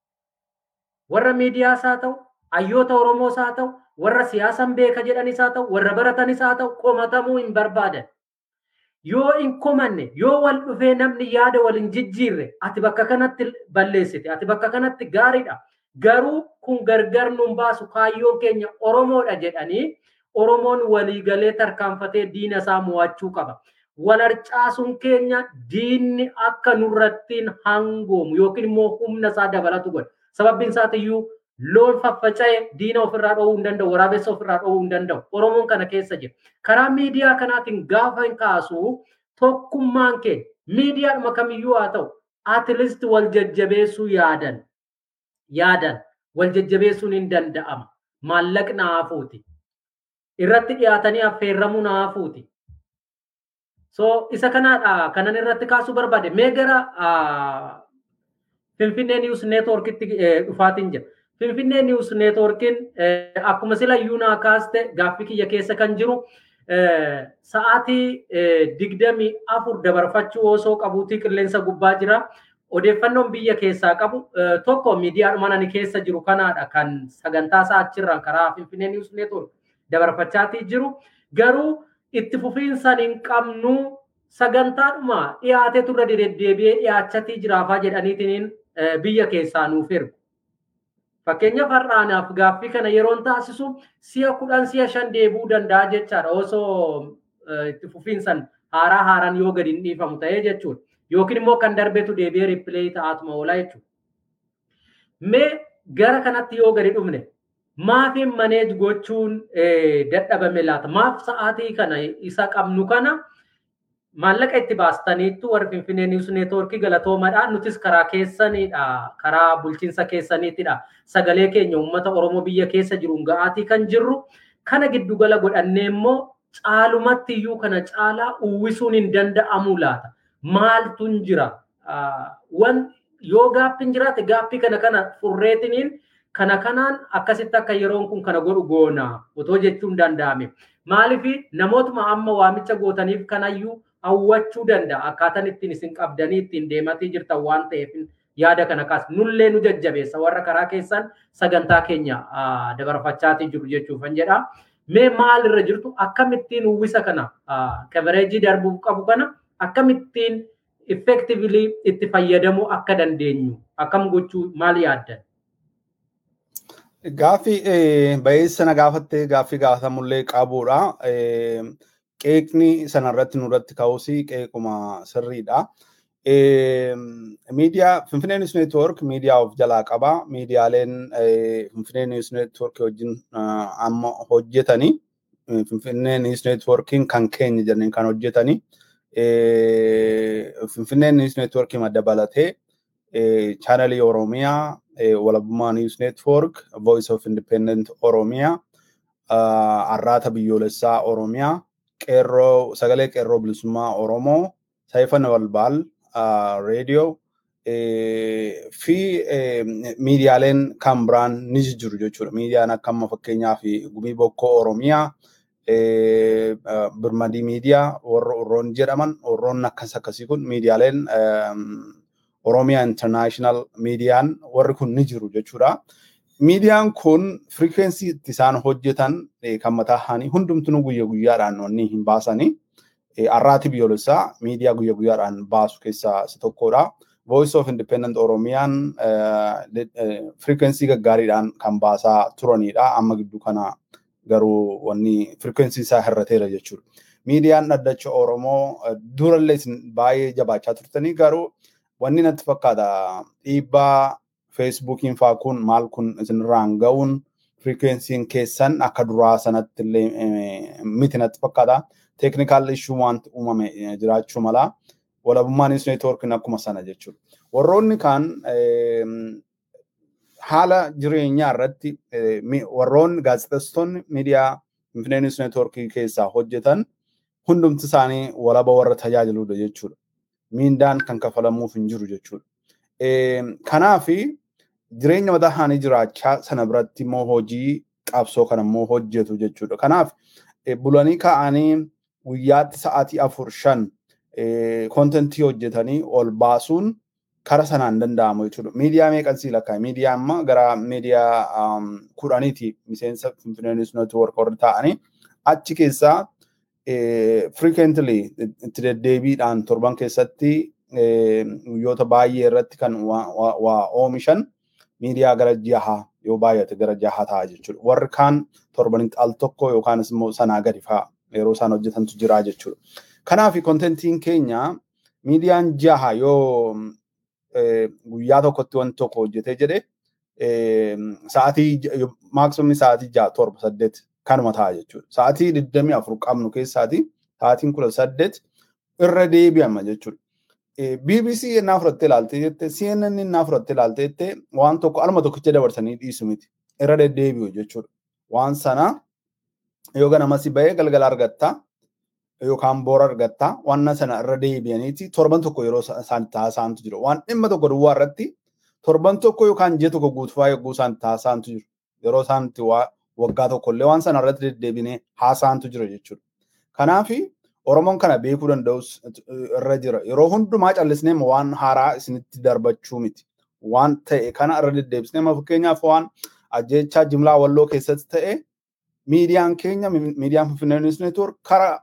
Warra miidiyaas haa ta'u, hayyoota Oromoos haa ta'u, warra siyaasan beeka jedhanis haa ta'u, warra baratanis haa ta'u komatamuu hin barbaadan. Yoo hin komanne, yoo wal dhufee namni yaada wal hin jijjiirre, ati bakka kanatti balleessite, ati bakka kanatti gaariidha. Garuu kun gargar nuun baasu kaayyoon keenya Oromoodha jedhanii Oromoon waliigalee tarkaanfatee diina isaa mo'achuu qaba. Walarcaasuun keenya diinni akka nurrattiin hangoomu yookiin immoo humna isaa dabalatu godha. Sababbiin isaatiyyuu loon faffaca'e diina ofirraa dhoowuu hin danda'u, waraabessa ofirraa dhoowuu hin danda'u. Oromoon kana keessa jira. Karaa miidiyaa kanaatiin gaafa hin kaasu tokkummaan keenya miidiyaadhuma kamiyyuu haa ta'u atileest wal jajjabeessuu yaadan wal jajjabeessuun hin danda'ama. Maallaqni haafuuti. Irratti dhiyaatanii affeerramuu haafuuti. So isa kanaadha kanan irratti kaasuu barbaade. Mee gara Finfinnee News Networkitti dhufaatiin jira. Finfinnee News Networkin akkuma sila yuunaa kaaste gaaffii kiyya keessa kan jiru sa'aatii 24 dabarfachuu osoo qabuutii qilleensa gubbaa jira. Odeeffannoon biyya keessaa qabu tokko miidiyaadhuma ani keessa jiru kanaadha kan sagantaa isaa achirraan karaa Finfinnee News Network dabarfachaatii jiru. Garuu itti fufiinsaan hin qabnu sagantaadhuma dhiyaatee turre deddeebi'ee dhiyaachatii jiraafaa jedhaniitiin biyya keessaa nuuf ergu. Fakkeenyaaf har'aanaaf gaaffii kana yeroon taasisu si'a 10 si'a 5 deebuu danda'a jechaadha osoo itti fufiinsaan haaraan yoo gadi hin dhiifamu ta'ee jechuudha. Yookiin immoo kan darbeetu deebi'ee riipileey ta'atuma oolaa jechuudha. Mee gara kanatti yoo gadi dhufne maafiin maneej gochuun dadhabame laata? Maaf sa'aatii kana isa qabnu kana maallaqa itti baastaniittu warri Finfinnee News Network galatoomadhaan nutis karaa keessanidha. Karaa bulchiinsa keessaniitidha. Sagalee keenya uummata Oromoo biyya keessa jiruun ga'aatii kan jirru kana giddugala godhannee immoo caalumatti iyyuu kana caalaa uwwisuun hin danda'amu laata? Maaltu jira? Yoo gaaffiin jiraate gaaffii kana furreetiniin kana kanaan akkasitti akka yeroon kun kana godhu goona otoo jechuun danda'ame. Maaliif namootuma amma waamicha gootaniif kanayyuu hawwachuu danda'a. Akkaataan ittiin isin qabdanii ittiin deematii jirtan waan ta'eef yaada kana kaas nullee nu jajjabeessa warra karaa keessan sagantaa keenya dabarfachaatii jiru jechuufan jedha. Mee maalirra jirtu akkamittiin uwwisa kana coverage darbuu qabu kana akkamittiin effectively itti fayyadamuu akka dandeenyu akkam gochuu maal yaaddan?
Gaaffii baay'eessana gaafattee gaaffii gaafatamullee qabuudha. Qeeqni sanarratti nurratti ka'uusi qeequma sirriidha. Media Finfinnee News Network media of jalaa qaba. Meediaaleen Finfinnee News Network wajjin amma hojjetanii Finfinnee News Networking kan keenya jedhanii kan hojjetanii Finfinnee News Network dabalatee channel Oromiyaa Walabummaa News Network Voice of Independent Oromiyaa Arraata Biyyoolessaa Oromiyaa Qeerroo Sagalee Qeerroo Bilisummaa Oromoo Saayifana Balbaal radio fi miidiyaaleen kan biraan ni jiru jechuudha. Miidiyaan akka amma fakkeenyaaf Gumii Bokkoo Oromiyaa Birmadii miidiyaa warroon jedhaman warroon akkasii kun miidiyaaleen Oromiyaa International miidiyaan warri kun ni jiru jechuudha. Miidiyaan kun frequency itti isaan hojjetan kan mataa isaanii hundumtuu guyyaa guyyaadhaan wanni hin baasanii Arraati Biyyoolessaa miidiyaa guyyaa guyyaadhaan baasu keessaa isa tokkodha. Voice of Independent Oromiyaan frequency gaggaariidhaan kan baasaa turanidha. Amma gidduu kana garuu wanni frequency isaa hir'ateera jechuudha. Miidiyaan dhaddacha Oromoo durallee baay'ee jabaachaa turtanii garuu wanni natti fakkaata dhiibbaa Facebookiin faa kun maal kun isinirraan ga'uun frequency'n keessan akka duraa sanatti illee miti natti fakkaata. Technical issue want uumame jiraachuu mala Walabummaa News Network akkuma sana jechuudha. Warroonni kan haala jireenyaa irratti warroonni gaazexeessitoonni miidiyaa Finfinnee News Network keessaa hojjetan hundumti isaanii walaba warra tajaajiludha jechuudha. Miindaan kan kafalamuuf hin jiru jechuudha. Kanaaf jireenya mataa isaanii jiraachaa sana biratti immoo hojii qabsoo kana immoo hojjetu jechuudha. Kanaaf bulanii ka'anii guyyaatti sa'aatii 4-5 kontentii hojjetanii ol baasuun kara sanaan danda'amu jechuudha. Miidiyaa meeqan sii lakkaa? Miidiyaa amma gara miidiyaa 10ti miseensa Finfinnee News Network warri ta'anii achi keessaa frequently itti deddeebiidhaan torban keessatti guyyoota baay'ee irratti kan waa oomishan miidiyaa gara 6 yoo baay'ate gara 6 ta'a jechuudha. Warri kaan torbanitti al tokko yookaan immoo sanaa gadi fa'aa yeroo isaan hojjetantu jira jechuudha. Kanaaf kontentiin keenya miidiyaan 6 yoo guyyaa tokkotti wanti tokko hojjetee jedhe sa'aatii maaksimumni sa'aatii 6-7 kanuma ta'a jechuudha. Sa'aatii 24 qabnu keessaati sa'aatiin 18 irra deebi'ama jechuudha. BBC innaa fudhattee ilaalte jette CNN innaa fudhattee ilaalte jette waan tokko alma tokkicha dabarsanii dhiisu miti irra deddeebi'u jechuudha. Waan sana yoo ganamasi ba'ee galgala argatta yookaan boora argatta waan sana irra deebi'aniiti torban tokko yeroo isaan taasisantu jiru. Waan dhimma tokko duwwaa irratti torban tokko yookaan ji'a tokko guutuu yogguu isaan taasisantu jiru. Yeroo isaan itti waggaa tokkollee waan sana irratti deddeebinee haasaantu jira jechuudha. Kanaaf Oromoon kana beekuu danda'us irra jira. Yeroo hundumaa callisnee waan haaraa isinitti darbachuu miti. Waan ta'e kana irra deddeebisnee fakkeenyaaf waan ajjeechaa jimlaa walloo keessatti ta'e miidiyaan keenya miidiyaan Finfinnee News Network kara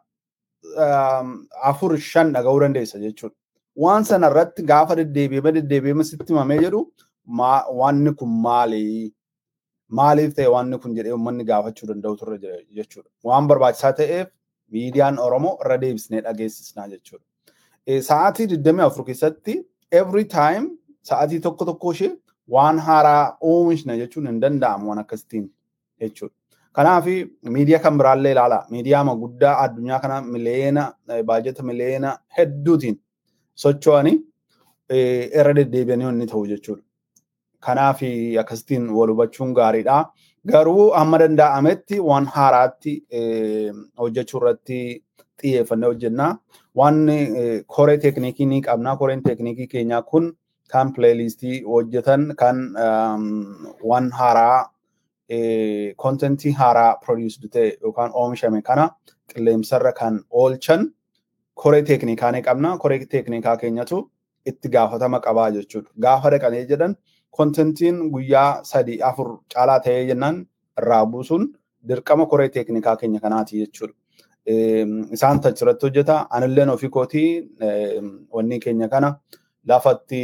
4-5 dhaga'uu dandeessa jechuudha. Waan sana irratti gaafa deddeebi'ee sitti himamee jedhu waanni kun maali? Maaliif ta'e waanni kun jedhee uummanni gaafachuu danda'u turre jira jechuudha. Waan barbaachisaa ta'eef miidiyaan Oromoo irra deebisnee dhageessisnaa jechuudha. Sa'aatii 24 keessatti every time sa'aatii tokko ishee waan haaraa oomishna jechuun hin danda'amu waan akkasitiin jechuudha. Kanaaf miidiyaa kan biraallee ilaala. Miidiyaa guddaa addunyaa kana baajeta miliyoona hedduutiin socho'anii irra deddeebi'anii inni ta'u jechuudha. Kanaaf akkasitiin wal hubachuun gaariidha. Garuu amma danda'ametti waan haaraatti hojjechuu irratti xiyyeeffannee hojjenna. Waan koree teeknikii ni qabna. Koreen teeknikii keenyaa kun kan playlistii hojjetan kan waan haaraa kontentii haaraa produce ta'e yookaan oomishame kana qilleensarra kan oolchan koree teeknikaa ni qabna. Koree teeknikaa keenyatu itti gaafatama qabaa jechuudha. Gaafa dhaqanii jedhan kontentiin guyyaa 3-4 caalaa ta'ee jennaan irraa buusuun dirqama koree teeknikaa keenya kanaati jechuudha. Isaan tachirratti hojjeta. Anilleen ofii kootii wanni keenya kana lafatti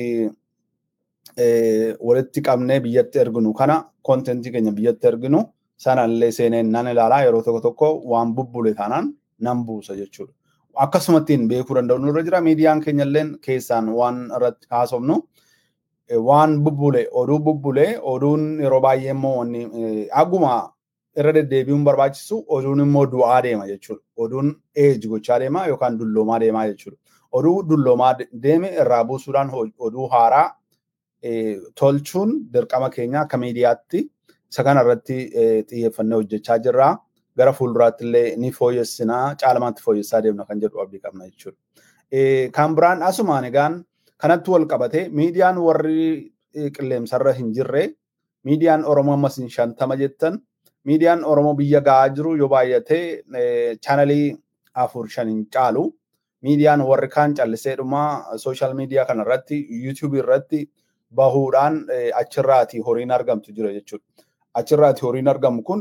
walitti qabnee biyyatti erginu kana kontentii keenya biyyatti erginu sanallee seeneen nan ilaalaa yeroo tokko waan bubbule taanaan nan buusa jechuudha. akkasumattiin beekuu danda'u nurra jira. Miidiyaan keenyalleen keessaan waan irratti haasofnu waan bubbule oduun yeroo baay'ee immoo wanni aguma irra deddeebi'uun barbaachisu oduun immoo du'aa deema jechuudha. Oduun eeji gochaa deema yookaan dulloomaa deemaa jechuudha. Oduu dulloomaa deeme irraa buusuudhaan oduu haaraa tolchuun dirqama keenya akka miidiyaatti isa kana irratti xiyyeeffannee hojjechaa jirra. Gara fuulduraatti illee ni fooyyessinaa caalmaatti fooyyessaa deemna kan jedhu abdii qabna jechuudha. Kan biraan asumaan egaan kanatti wal qabate miidiyaan warri qilleensarra hin jirre miidiyaan Oromoo ammas 50 jettan miidiyaan Oromoo biyya gahaa jiru yoo baay'ate chaanalii 4-5 hin caalu. Miidiyaan warri kaan calliseedhuma sooshaal miidiyaa kanarratti yuutuubii irratti bahuudhaan achirraati horiin argamtu jira jechuudha. Achirraati horiin argamu kun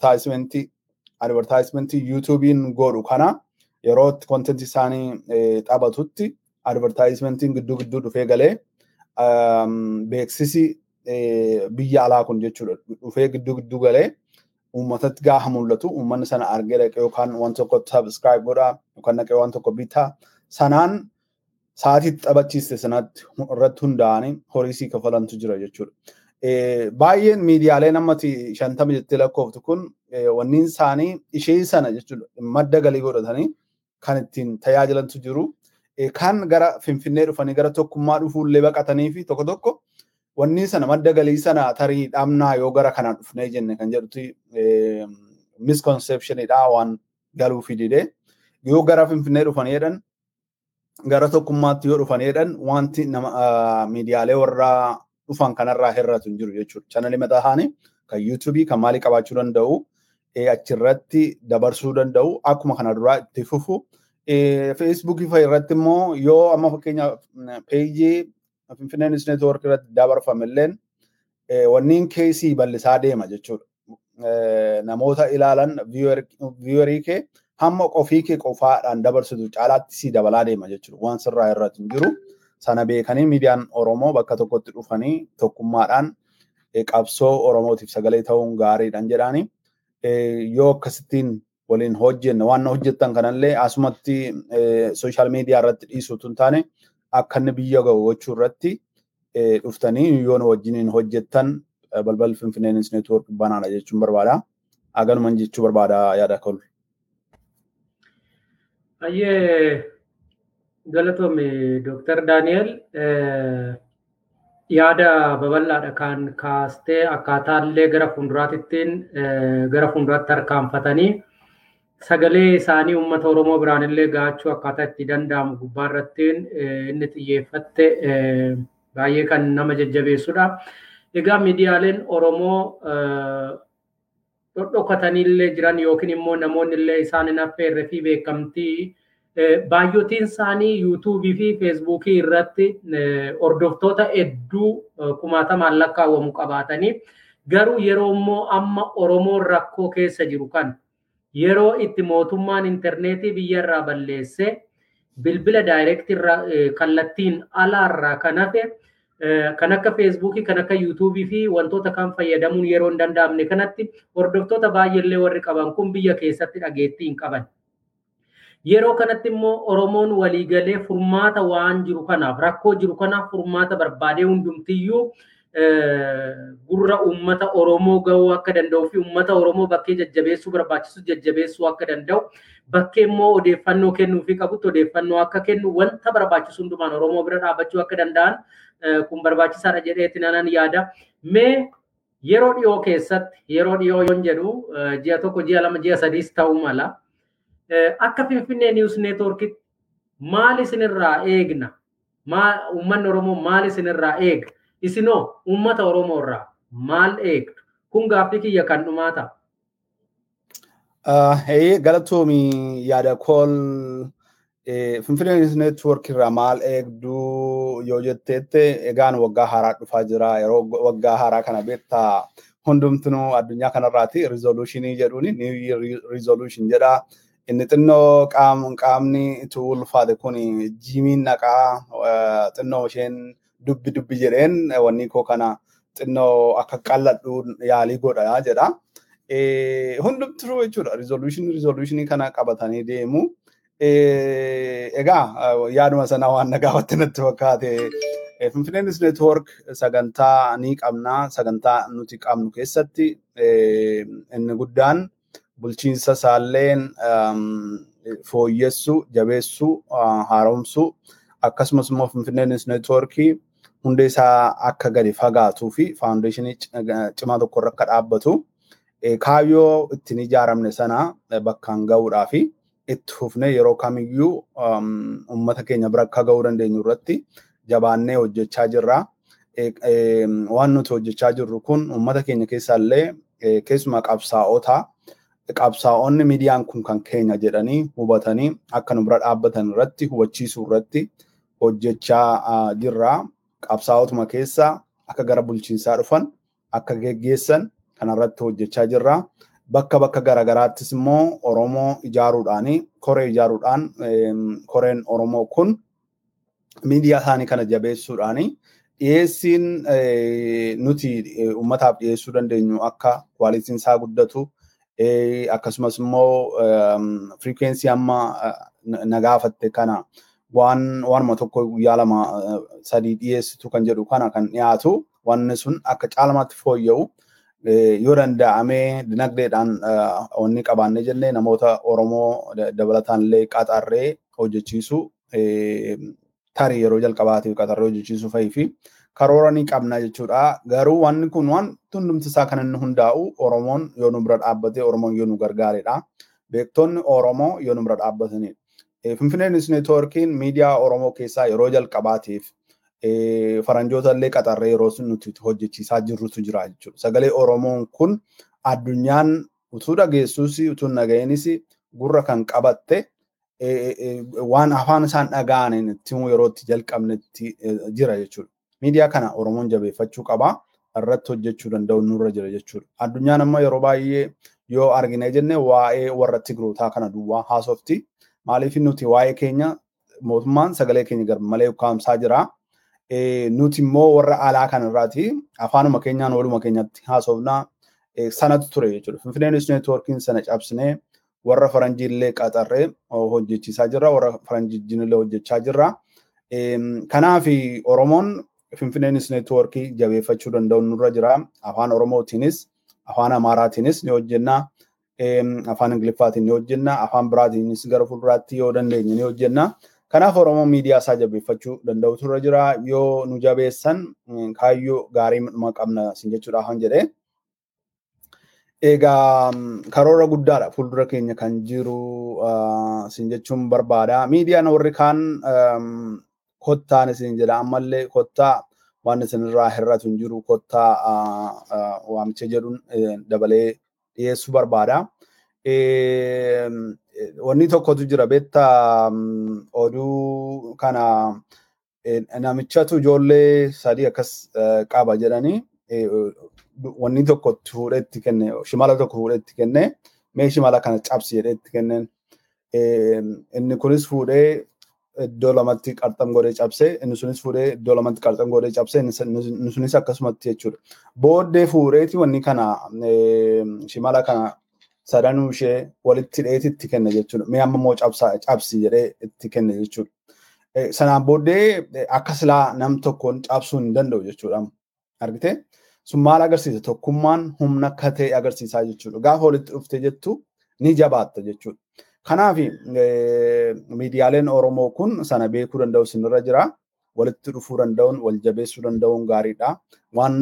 advertaayimentii yuutuubiin godhu kana yeroo kontentii isaanii taphatutti advertaayimentiin gidduu dhufee galee beeksisi biyya alaa kun jechuudha dhufee gidduu galee uummatatti gaafa mul'atu uummanni sana argee dhaqee yookaan waan tokko subscribe godhaa yookaan dhaqee waan tokko bitaa sanaan sa'aatii taphachiiste sanatti irratti hundaa'anii horiisii kafalantu jira jechuudha. Baay'een miidiyaaleen ammatti 50 jettee lakkooftu kun wanniin isaanii ishee sana jechuudha madda galii godhatanii kan ittiin tajaajilantu jiru. Kan gara Finfinnee dhufanii gara tokkummaa dhufuullee baqatanii fi tokko wanni sana madda galii sana tarii dhamnaa yoo gara kanaan dhufnee jenne kan jedhuti misconceptionidha waan galuu fidide yoo gara Finfinnee dhufanii jedhan gara tokkummaatti yoo dhufanii jedhan wanti miidiyaalee warra dhufan kanarraa hir'atu hin jiru jechuudha. Chaanalii mataa isaanii kan yuutuubii kan maalii qabaachuu danda'u achirratti dabarsuu danda'u akkuma kana duraa itti fufu. Feesbuukii fa'a irratti immoo yoo amma fakkeenya peejii Finfinnee News Network irratti dabarfamilleen wanniin keesii bal'isaa deema jechuudha. Namoota ilaalan viewerii kee hamma qofii kee qofaadhaan dabarsitu caalaatti si dabalaa deema jechuudha. Waan sirraa irratti hin jiru. Sana beekanii miidiyaan Oromoo bakka tokkotti dhufanii tokkummaadhaan qabsoo Oromootiif sagalee ta'uun gaariidhaan jedhaani. Yoo akkasittiin waliin hojjenne waan hojjettan kanallee asumatti sooshaal miidiyaa irratti dhiisuutu hin taane akka inni biyya gahu gochuu irratti dhuftanii yoo wajjiniin hojjettan balbal Finfinnee News Network banaadha jechuun barbaada. Aganuman jechuu barbaada yaada kol.
Ayyee galatoome Dr. Daniel yaada babal'aadha kan kaastee akkaataallee gara fuulduraattiin gara fuulduraatti harkaanfatanii sagalee isaanii uummata Oromoo biraanillee gaachuu akkaataa itti danda'amu gubbaarrattiin inni xiyyeeffatte baay'ee kan nama jajjabeessudha. Egaa miidiyaaleen Oromoo dhodhokataniillee jiran yookiin immoo namoonni illee isaan hin affeerre fi beekamtii baay'ootiin isaanii yuutuubii fi feesbuukii irratti hordoftoota hedduu kumaatamaan lakkaawwamu qabaatanii garuu yeroo immoo amma Oromoon rakkoo keessa jiru kan yeroo itti mootummaan intarneetii biyyarraa balleesse bilbila daayirektii kallattiin alaarraa kan hafe kan akka feesbuukii kan akka yuutuubii fi wantoota kan fayyadamuun yeroo hin danda'amne kanatti hordoftoota baay'eellee warri qaban kun biyya keessatti dhageettii hin qaban. Yeroo kanatti immoo Oromoon waliigalee furmaata waan jiru kanaaf rakkoo jiru kanaaf furmaata barbaadee hundumtiyyuu gurra uummata Oromoo gahuu akka danda'u fi uummata Oromoo bakkee jajjabeessuu barbaachisu jajjabeessuu akka danda'u bakkee immoo odeeffannoo kennuu fi qabutti odeeffannoo akka kennu wanta barbaachisu hundumaan Oromoo bira dhaabachuu akka danda'an kun barbaachisaadha jedheetti nanan yaada. Mee yeroo dhiyoo keessatti yeroo dhiyoo yoon jedhu ji'a tokko ji'a lama ji'a sadiis ta'uu mala. Akka Finfinnee News Network maal isinirraa eegna? Uummanni Oromoo maal isinirraa eega? Isinoo uummata Oromoo irraa maal eegdu? Kun gaaffii kiyya kan dhumaa ta'a.
Galatoomii yaada kool Finfinnee News Network irraa maal eegdu yoo jetteette egaan waggaa haaraa dhufaa jira. Yeroo waggaa haaraa kana beektaa hundumtuu addunyaa kanarraati resolutionii jedhuuni new resolution jedha. Inni xinnoo qaamni itti ulfaate kun jiimiin naqaa xinnoo isheen dubbi jedheen wanni koo kana xinnoo akka qalladhu yaalii godha jedha. Hundumtuu jechuudha resolutionii kana qabatanii deemu. Egaa yaaduma sana waan nagaawatti natti fakkaate Finfinnee News Network sagantaa ni qabna. Sagantaa nuti qabnu keessatti inni guddaan bulchiinsa isaalleen fooyyessuu, jabeessuu, haaromsuu akkasumas immoo Finfinnee News Network hundee isaa akka gadi fagaatuu fi faawundeeshinii cimaa tokko irra akka dhaabbatu kaayyoo ittiin ijaaramne sana bakkaan ga'uudhaa fi itti fufnee yeroo kamiyyuu uummata keenya bira akka ga'uu dandeenyu irratti jabaannee hojjechaa jirra. Waan nuti hojjechaa jirru kun uummata keenya keessaallee keessumaa qabsaa'onni miidiyaan kun kan keenya jedhanii hubatanii akka nu bira dhaabbatan irratti hubachiisuu irratti hojjechaa jirra. Qabsaa'otuma keessa akka gara bulchiinsaa dhufan akka geggeessan kanarratti hojjechaa jirra. Bakka garagaraattis immoo Oromoo ijaaruudhaani koree ijaaruudhaan koreen Oromoo kun miidiyaa isaanii kana jabeessuudhaani dhiyeessiin nuti uummataaf dhiyeessuu dandeenyu akka kwaalitiin isaa guddatu akkasumas immoo frequency amma nagaafatte kana waanuma tokko guyyaa 2-3 dhiyeessitu kan jedhu kana kan dhiyaatu wanni sun akka caalmaatti fooyya'u yoo danda'amee dinagdeedhaan onni qabaannee jennee namoota Oromoo dabalataan illee qaxarree hojjechiisu tarii yeroo jalqabaatiif qaxarree hojjechiisuu fa'ii fi karoora ni qabna jechuudha. Garuu wanni kun waan hundumti isaa kan inni hundaa'u Oromoon yoo nu bira dhaabbate Oromoon yoo nu gargaaredha. Beektonni Oromoo yoo nu bira dhaabbatanidha. Finfinnee News Networkiin miidiyaa Oromoo keessaa yeroo jalqabaatiif faranjoota illee qaxarree yeroo nuti hojjechiisaa jirrutu jira jechuudha. Sagalee Oromoon kun addunyaan utuu dhageessuus utuu nageenis gurra kan qabatte waan afaan isaan dhaga'aniin itti yeroo itti jalqabnetti jira jechuudha. Miidiyaa kana Oromoon jabeeffachuu qaba. Irratti hojjechuu danda'u nurra jira jechuudha. Addunyaan amma yeroo baay'ee yoo argine jenne waa'ee warra Tigrootaa kana duwwaa haasofti. Maaliif nuti waa'ee keenya mootummaan sagalee keenya gar malee ukkaamsaa jira. Nuti immoo warra alaa kanarraati afaanuma keenyaan waluma keenyatti haasofnaa sanatu ture jechuudha. Finfinnee News Networkiin sana cabsinee warra faranjiillee qaxarree hojjechiisaa jirra. Warra faranjiillee hojjechaa jirra. Kanaaf Oromoon Finfinnee News Networkii jabeeffachuu danda'u nurra jira. Afaan Oromootiinis, afaan Amaaraatiinis ni hojjenna. Afaan Ingiliffaatiin ni hojjenna. Afaan biraatiinis gara fuulduraatti yoo dandeenye ni hojjenna. Kanaaf Oromoo miidiyaa isaa jabeeffachuu danda'utu irra jira. Yoo nu jabeessan kaayyoo gaarii qabna sin jechuudhaaf han jedhee. Egaa karoora guddaadha fuuldura keenya kan jiru sin jechuun barbaada. Miidiyaan warri kaan kottaan isin jedha ammallee kottaa waan isinirraa hir'atu hin jiru kottaa waamicha jedhuun dabalee dhiyeessuu barbaada. Wanni tokkotu jira beektaa oduu kana namichatu ijoollee 3 akkas qaba jedhanii wanni tokko fuudhee itti kenne shimala tokko fuudhee itti kenne mee shimala kana cabsi jedhee itti kenneen inni kunis fuudhee iddoo lamatti qarxam godhee cabsee inni sunis fuudhee iddoo lamatti qarxam godhee cabsee inni sunis akkasumatti jechuudha. Booddee fuudheeti wanni kana shimala kana sadanuu ishee walitti hidheeti itti kenne jechuudha. Mee amma immoo cabsi jedhee itti kenne jechuudha. Sanaan booddee akka silaa nam tokkoon cabsuu hin danda'u jechuudha. Argitee? Sun maal agarsiisa? Tokkummaan humna akka ta'e agarsiisaa jechuudha. Gaafa walitti dhufte jettu ni jabaatta jechuudha. Kanaaf miidiyaaleen Oromoo kun sana beekuu danda'u sinirra jira. Walitti dhufuu danda'uun, wal jabeessuu danda'uun gaariidha. Waan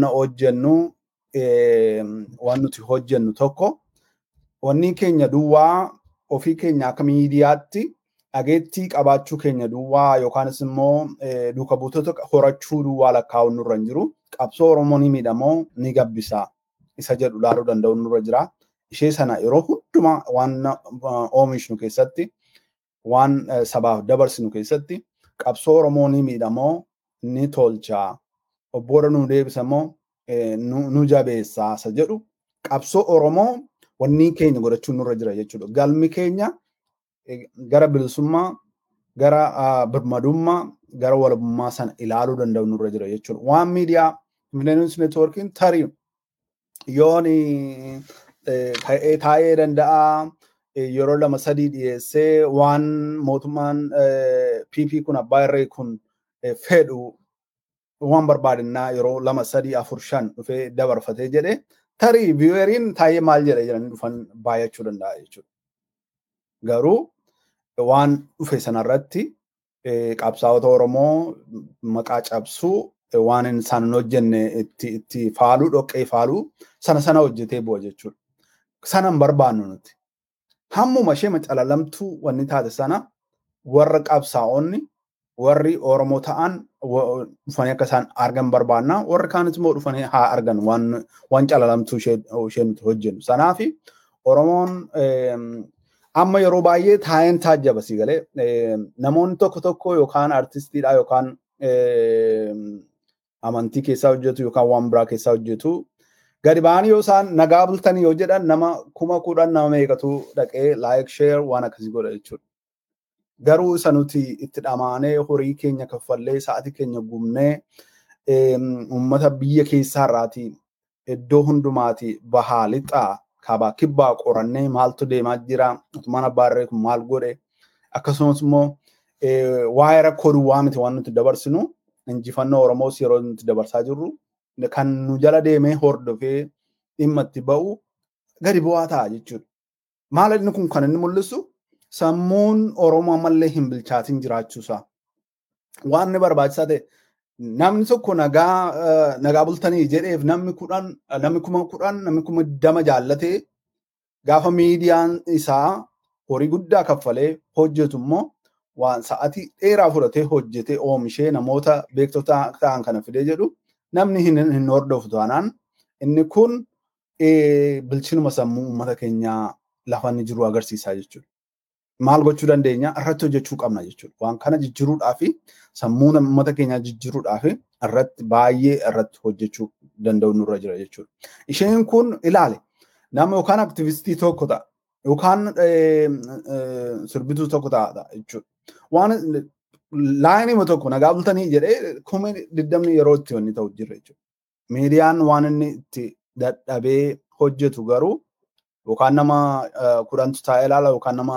nuti hojjennu tokko wanni keenya duwwaa ofii keenya akka miidiyaatti dhageettii qabaachuu keenya duwwaa yookaanis immoo duuka buutota horachuu duwwaa lakkaa'uun nurra hin jiru. Qabsoo Oromoo ni miidhamoo ni gabbisa isa jedhu laaluu danda'u nurra jira. Ishee sana yeroo hundumaa waan oomishnu keessatti waan sabaaf dabarsinu keessatti qabsoo Oromoo ni miidhamoo ni tolcha. Obboora nu deebisamoo nu jabeessa isa jedhu qabsoo Oromoo wanni keenya godhachuun nurra jira jechuudha. Galmi keenya gara bilisummaa, gara birmadummaa, gara walabummaa sana ilaaluu danda'u nurra jira jechuudha. Waan miidiyaa Finfinnee News Networkiin tarii yoon taa'ee danda'a yeroo lama sadii dhiyeessee waan mootummaan PP kun abbaa irree kun fedhu waan barbaadannaa yeroo lama sadii afur shan dhufee dabarfatee jedhe tarii viiweriin taayee maal jedhe jedhanii dhufan baay'achuu danda'a jechuudha. Garuu waan dhufe sanarratti qabsaa'ota Oromoo maqaa cabsuu waan isaan hin hojjenne itti faaluu dhoqqee faaluu sana hojjetee bu'a jechuudha. Sana hin barbaannu nuti. Hammuma ishee macalalamtuu wanni taate sana warra qabsaa'onni warri Oromoo ta'an dhufanii akka isaan argan barbaanna. Warri kaanis immoo dhufanii haa argan waan calalamtuu ishee nuti hojjennu. Sanaafi Oromoon amma yeroo baay'ee taa'een taajjaba si galee namoonni tokko yookaan artistiidha yookaan amantii keessaa hojjetu yookaan waan biraa keessaa hojjetu gadi ba'anii yoo isaan nagaa bultanii yoo jedhan nama 10,000 nama meeqatu dhaqee like share waan akkasii godha jechuudha. Garuu isa nuti itti dhamaanee horii keenya kaffallee sa'aatii keenya gubnee uummata biyya keessaa irraati iddoo hundumaati bahaa lixaa kaabaa kibbaa qorannee maaltu deemaa jira mootummaan abbaa irree kun maal godhe akkasumas immoo waa'ee rakkoo duwwaa miti waan nuti dabarsinu injifannoo Oromoos yeroo nuti dabarsaa jirru kan nu jala deemee hordofee dhimma itti ba'u gadi bu'aa ta'a jechuudha. Maal inni kun kan inni mul'isu sammuun Oromoo ammallee hin bilchaatin jiraachuusaa. Waan inni barbaachisaa ta'e namni tokko nagaa bultanii jedheef namni 10,000 namni 10,000 jaallatee gaafa miidiyaan isaa horii guddaa kaffalee hojjetu immoo waan sa'aatii dheeraa fudhatee hojjetee oomishee namoota beektota ta'an kana fidee jedhu namni hin hordofu taanaan inni kun bilchinuma sammuu uummata keenyaa lafa inni jiru agarsiisaa jechuudha. Maal gochuu dandeenya irratti hojjechuu qabna jechuudha. Waan kana jijjiiruudhaa fi sammuu uummata keenyaa jijjiiruudhaa fi baay'ee irratti hojjechuu danda'u nurra jira jechuudha. Isheen kun ilaale nama yookaan aktivistii tokko ta'a yookaan sirbituu tokko ta'a jechuudha. Waan laayinii tokko nagaa bultanii jedhee 20 yeroo itti wanni ta'u jira jechuudha. Miidiyaan waan inni itti dadhabee hojjetu garuu yookaan nama 10 taa'ee ilaala yookaan nama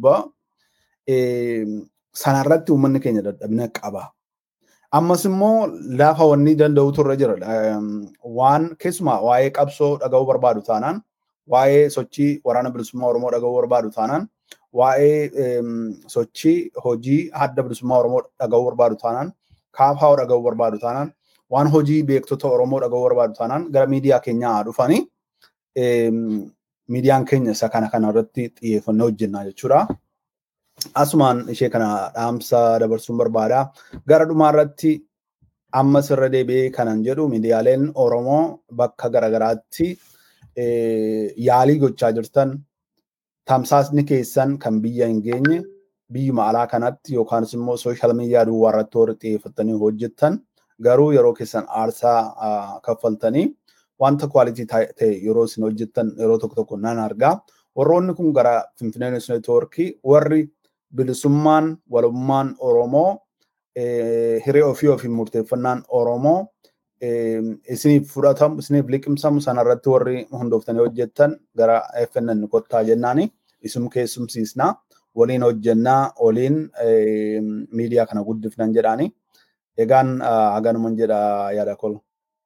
100 sanarratti uummanni keenya dadhabina qaba. Ammas immoo lafa wanni danda'utu irra jira. Waan keessumaa waa'ee qabsoo dhaga'uu barbaadu taanaan waa'ee sochii waraana bilisummaa Oromoo dhaga'uu barbaadu taanaan waa'ee sochii hojii adda bilisummaa Oromoo dhaga'uu barbaadu taanaan kaafaa dhaga'uu barbaadu taanaan waan hojii beektota Oromoo dhaga'uu barbaadu taanaan gara miidiyaa keenyaa dhufanii miidiyaan keenya isa kana irratti xiyyeeffannoo hojjennaa jechuudha. Asumaan ishee kana dhaamsa dabarsuun barbaada. Gara dhumaa irratti ammas irra deebi'ee kanan jedhu miidiyaaleen Oromoo bakka garagaraatti yaalii gochaa jirtan tamsaasni keessan kan biyya hin geenye biyyuma alaa kanatti yookaan immoo sooshaal miidiyaa duwwaa irratti warri xiyyeeffatanii hojjettan garuu yeroo keessan aarsaa kaffaltanii wanta kwaalitii ta'e yeroo isin hojjettan yeroo tokko nan argaa. Warroonni kun gara Finfinnee News Networkii warri bilisummaan walummaan Oromoo hiree ofii murteeffannaan Oromoo isiniif fudhatamu isiniif liqimsamu sanarratti warri hundooftanii hojjettan gara FNN kottaa jennaani isum keessumsiisnaa waliin hojjennaa waliin miidiyaa kana guddifnan jedhaani. Egaan haganuman jedha yaada koo.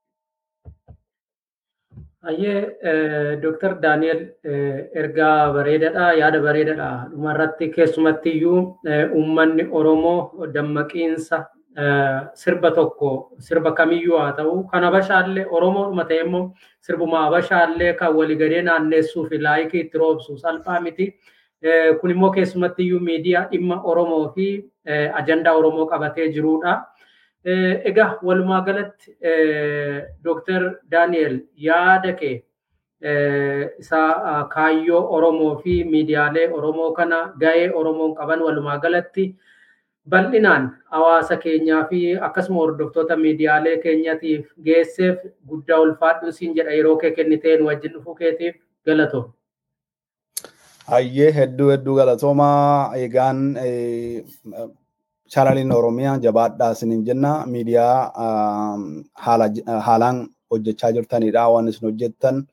Ayyee Dr. Daniel ergaa bareedaadha yaada bareedaadha dhumarratti keessumatti iyyuu uummanni Oromoo dammaqiinsa sirba tokko sirba kamiyyuu haa ta'u kan Habashaallee Oromoodhuma ta'e immoo sirbuma Habashaallee kan waliigalee naanneessuu fi laayikii itti roobsu salphaa miti. Kun immoo keessumatti iyyuu miidiyaa dhimma Oromoo fi ajandaa Oromoo qabatee jirudha. Egaa walumaa galatti Dr. Daniel yaada kee isa kaayyoo Oromoo fi miidiyaalee Oromoo kana ga'ee Oromoon qaban walumaa galatti bal'inaan hawaasa keenyaa fi akkasuma hordoftoota miidiyaalee keenyatiif geesseef guddaa ulfaadhu siin jedha yeroo kee kenniteen wajjin dhufuu keetiif galatooma.
Ayyee hedduu galatoomaa egaan chaanaliin Oromiyaa jabaadhaa isiniin jenna miidiyaa haalaan hojjechaa jirtanidha waan isin hojjettan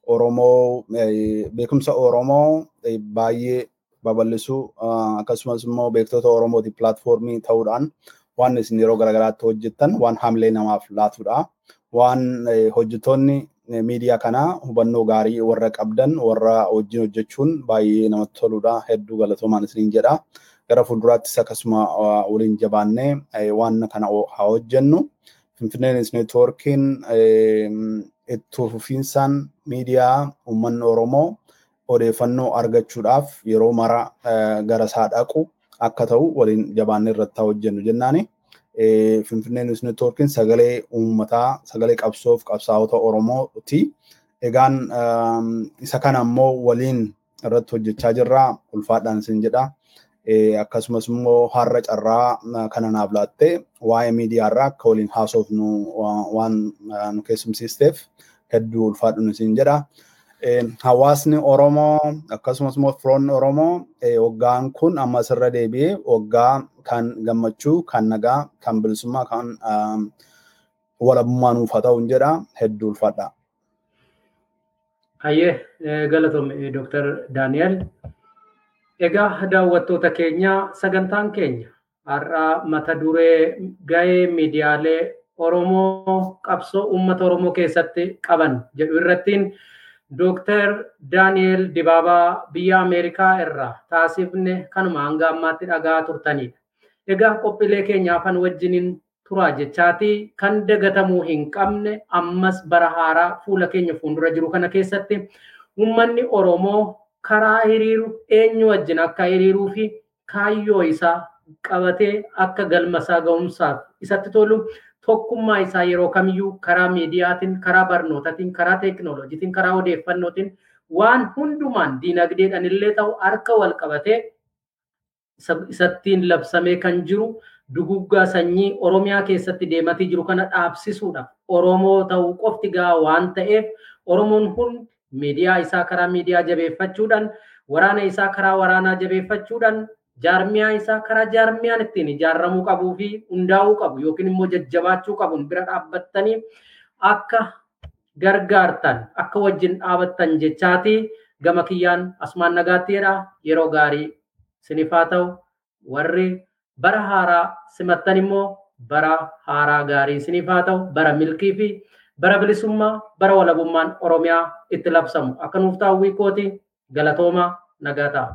Oromoo beekumsa Oromoo baay'ee babal'isuu akkasumas immoo beektota Oromooti pilaatfoormii ta'uudhaan waan isin yeroo garaagaraatti hojjettan waan hamilee namaaf laatudha. Waan hojjettoonni miidiyaa kanaa hubannoo gaarii warra qabdan warra wajjin hojjechuun baay'ee namatti toludha. Hedduu galatoomaa isiniin jedha. Gara fuulduraattis akkasuma waliin jabaannee waan kana haa hojjennu. Finfinnee News Networkiin itti fufiinsaan miidiyaa uummanni Oromoo odeeffannoo argachuudhaaf yeroo mara gara isaa dhaqu akka ta'u waliin jabaannee irratti hojjennu jennaani. Finfinnee News Networkiin sagalee uummataa, sagalee qabsoof qabsaa'ota Oromooti. Egaan isa kana immoo waliin irratti hojjechaa jirra. Ulfaadhaan isin jedha. Akkasumas immoo har'a carraa kana naaf laattee waa'ee miidiyaa irraa akka waliin haasofnu waan nu keessumsiisteef hedduu ulfaadhuun isin jedha. Hawaasni Oromoo akkasumas immoo firoonni Oromoo waggaan kun amma asirra deebi'ee waggaa kan gammachuu, kan nagaa, kan bilisummaa, kan walabummaa nuuf haa ta'u jedha. Hedduu ulfaadha.
Hayyee galatoome Dr. Daani'el. Egaa daawwattoota keenya sagantaan keenya har'a mata duree gahee miidiyaalee Oromoo qabsoo uummata Oromoo keessatti qaban jedhu irrattiin Dr. Daani'el Dibaabaa biyya Ameerikaa irraa taasifne kanuma hanga ammaatti dhagaa turtanidha. Egaa qophiilee keenya afaan wajjiniin turaa jechaati kan dagatamuu hin qabne ammas bara haaraa fuula keenya fuuldura jiru kana keessatti uummanni Oromoo karaa hiriiru eenyu wajjin akka hiriiruu fi kaayyoo isaa qabatee akka galma isaa ga'umsaaf isatti tolu tokkummaa isaa yeroo kamiyyuu karaa miidiyaatiin, karaa barnootaatiin, karaa teekinooloojiitiin, karaa odeeffannootiin waan hundumaan diinagdeedhaan illee ta'u harka wal qabatee isattiin labsamee kan jiru duguggaa sanyii Oromiyaa keessatti deematii jiru kana dhaabsisuudhaaf Oromoo ta'uu qofti gahaa waan ta'eef Oromoon hundi miidiyaa isaa karaa miidiyaa jabeeffachuudhaan, waraana isaa karaa waraanaa jabeeffachuudhaan, jaarmiyaa isaa karaa jaarmiyaan ittiin ijaarramuu qabuu fi hundaa'uu qabu yookiin immoo jajjabaachuu qabuun bira dhaabbattanii akka gargaartan, akka wajjin dhaabattan jechaati gama kiyyaan asumaan nagaattiidha. Yeroo gaarii isiniif haa ta'u. Warri bara haaraa simattan immoo bara haaraa gaarii isiniif haa ta'u. Bara milkii fi bara bilisummaa, bara walabummaan Oromiyaa itti labsamu akka nuuf ta'u wiikooti. Galatooma nagaa ta'a.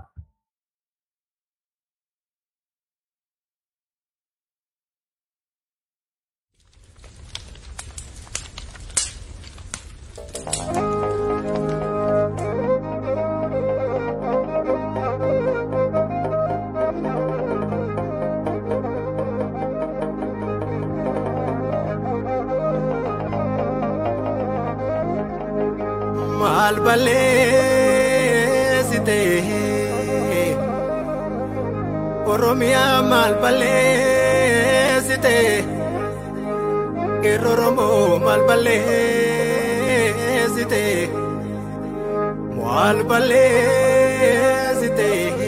Malbalesite Oromia malbalesite Eroromo malbalesite malbalesite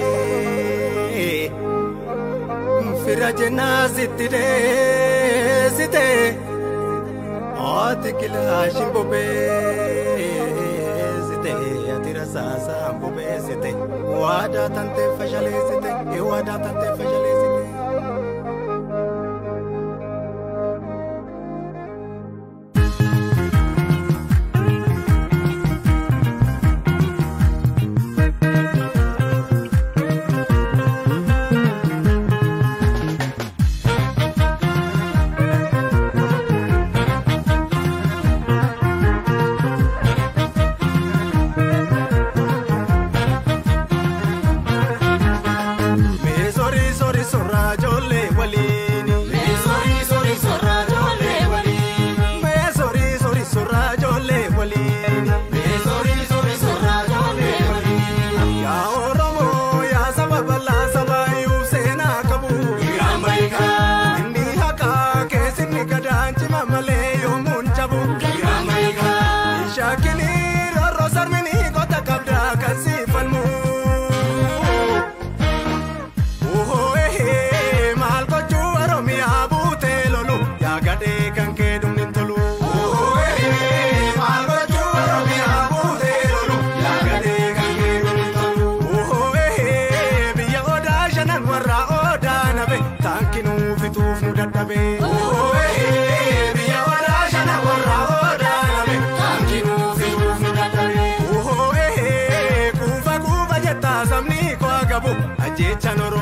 Firajena sitide site Atikila shimbobe Sasa mbobesite wada tante fashalesite wada tante fashalesite Kan ke dum nin tolu oh mal go chu Oromia bute Irreechaan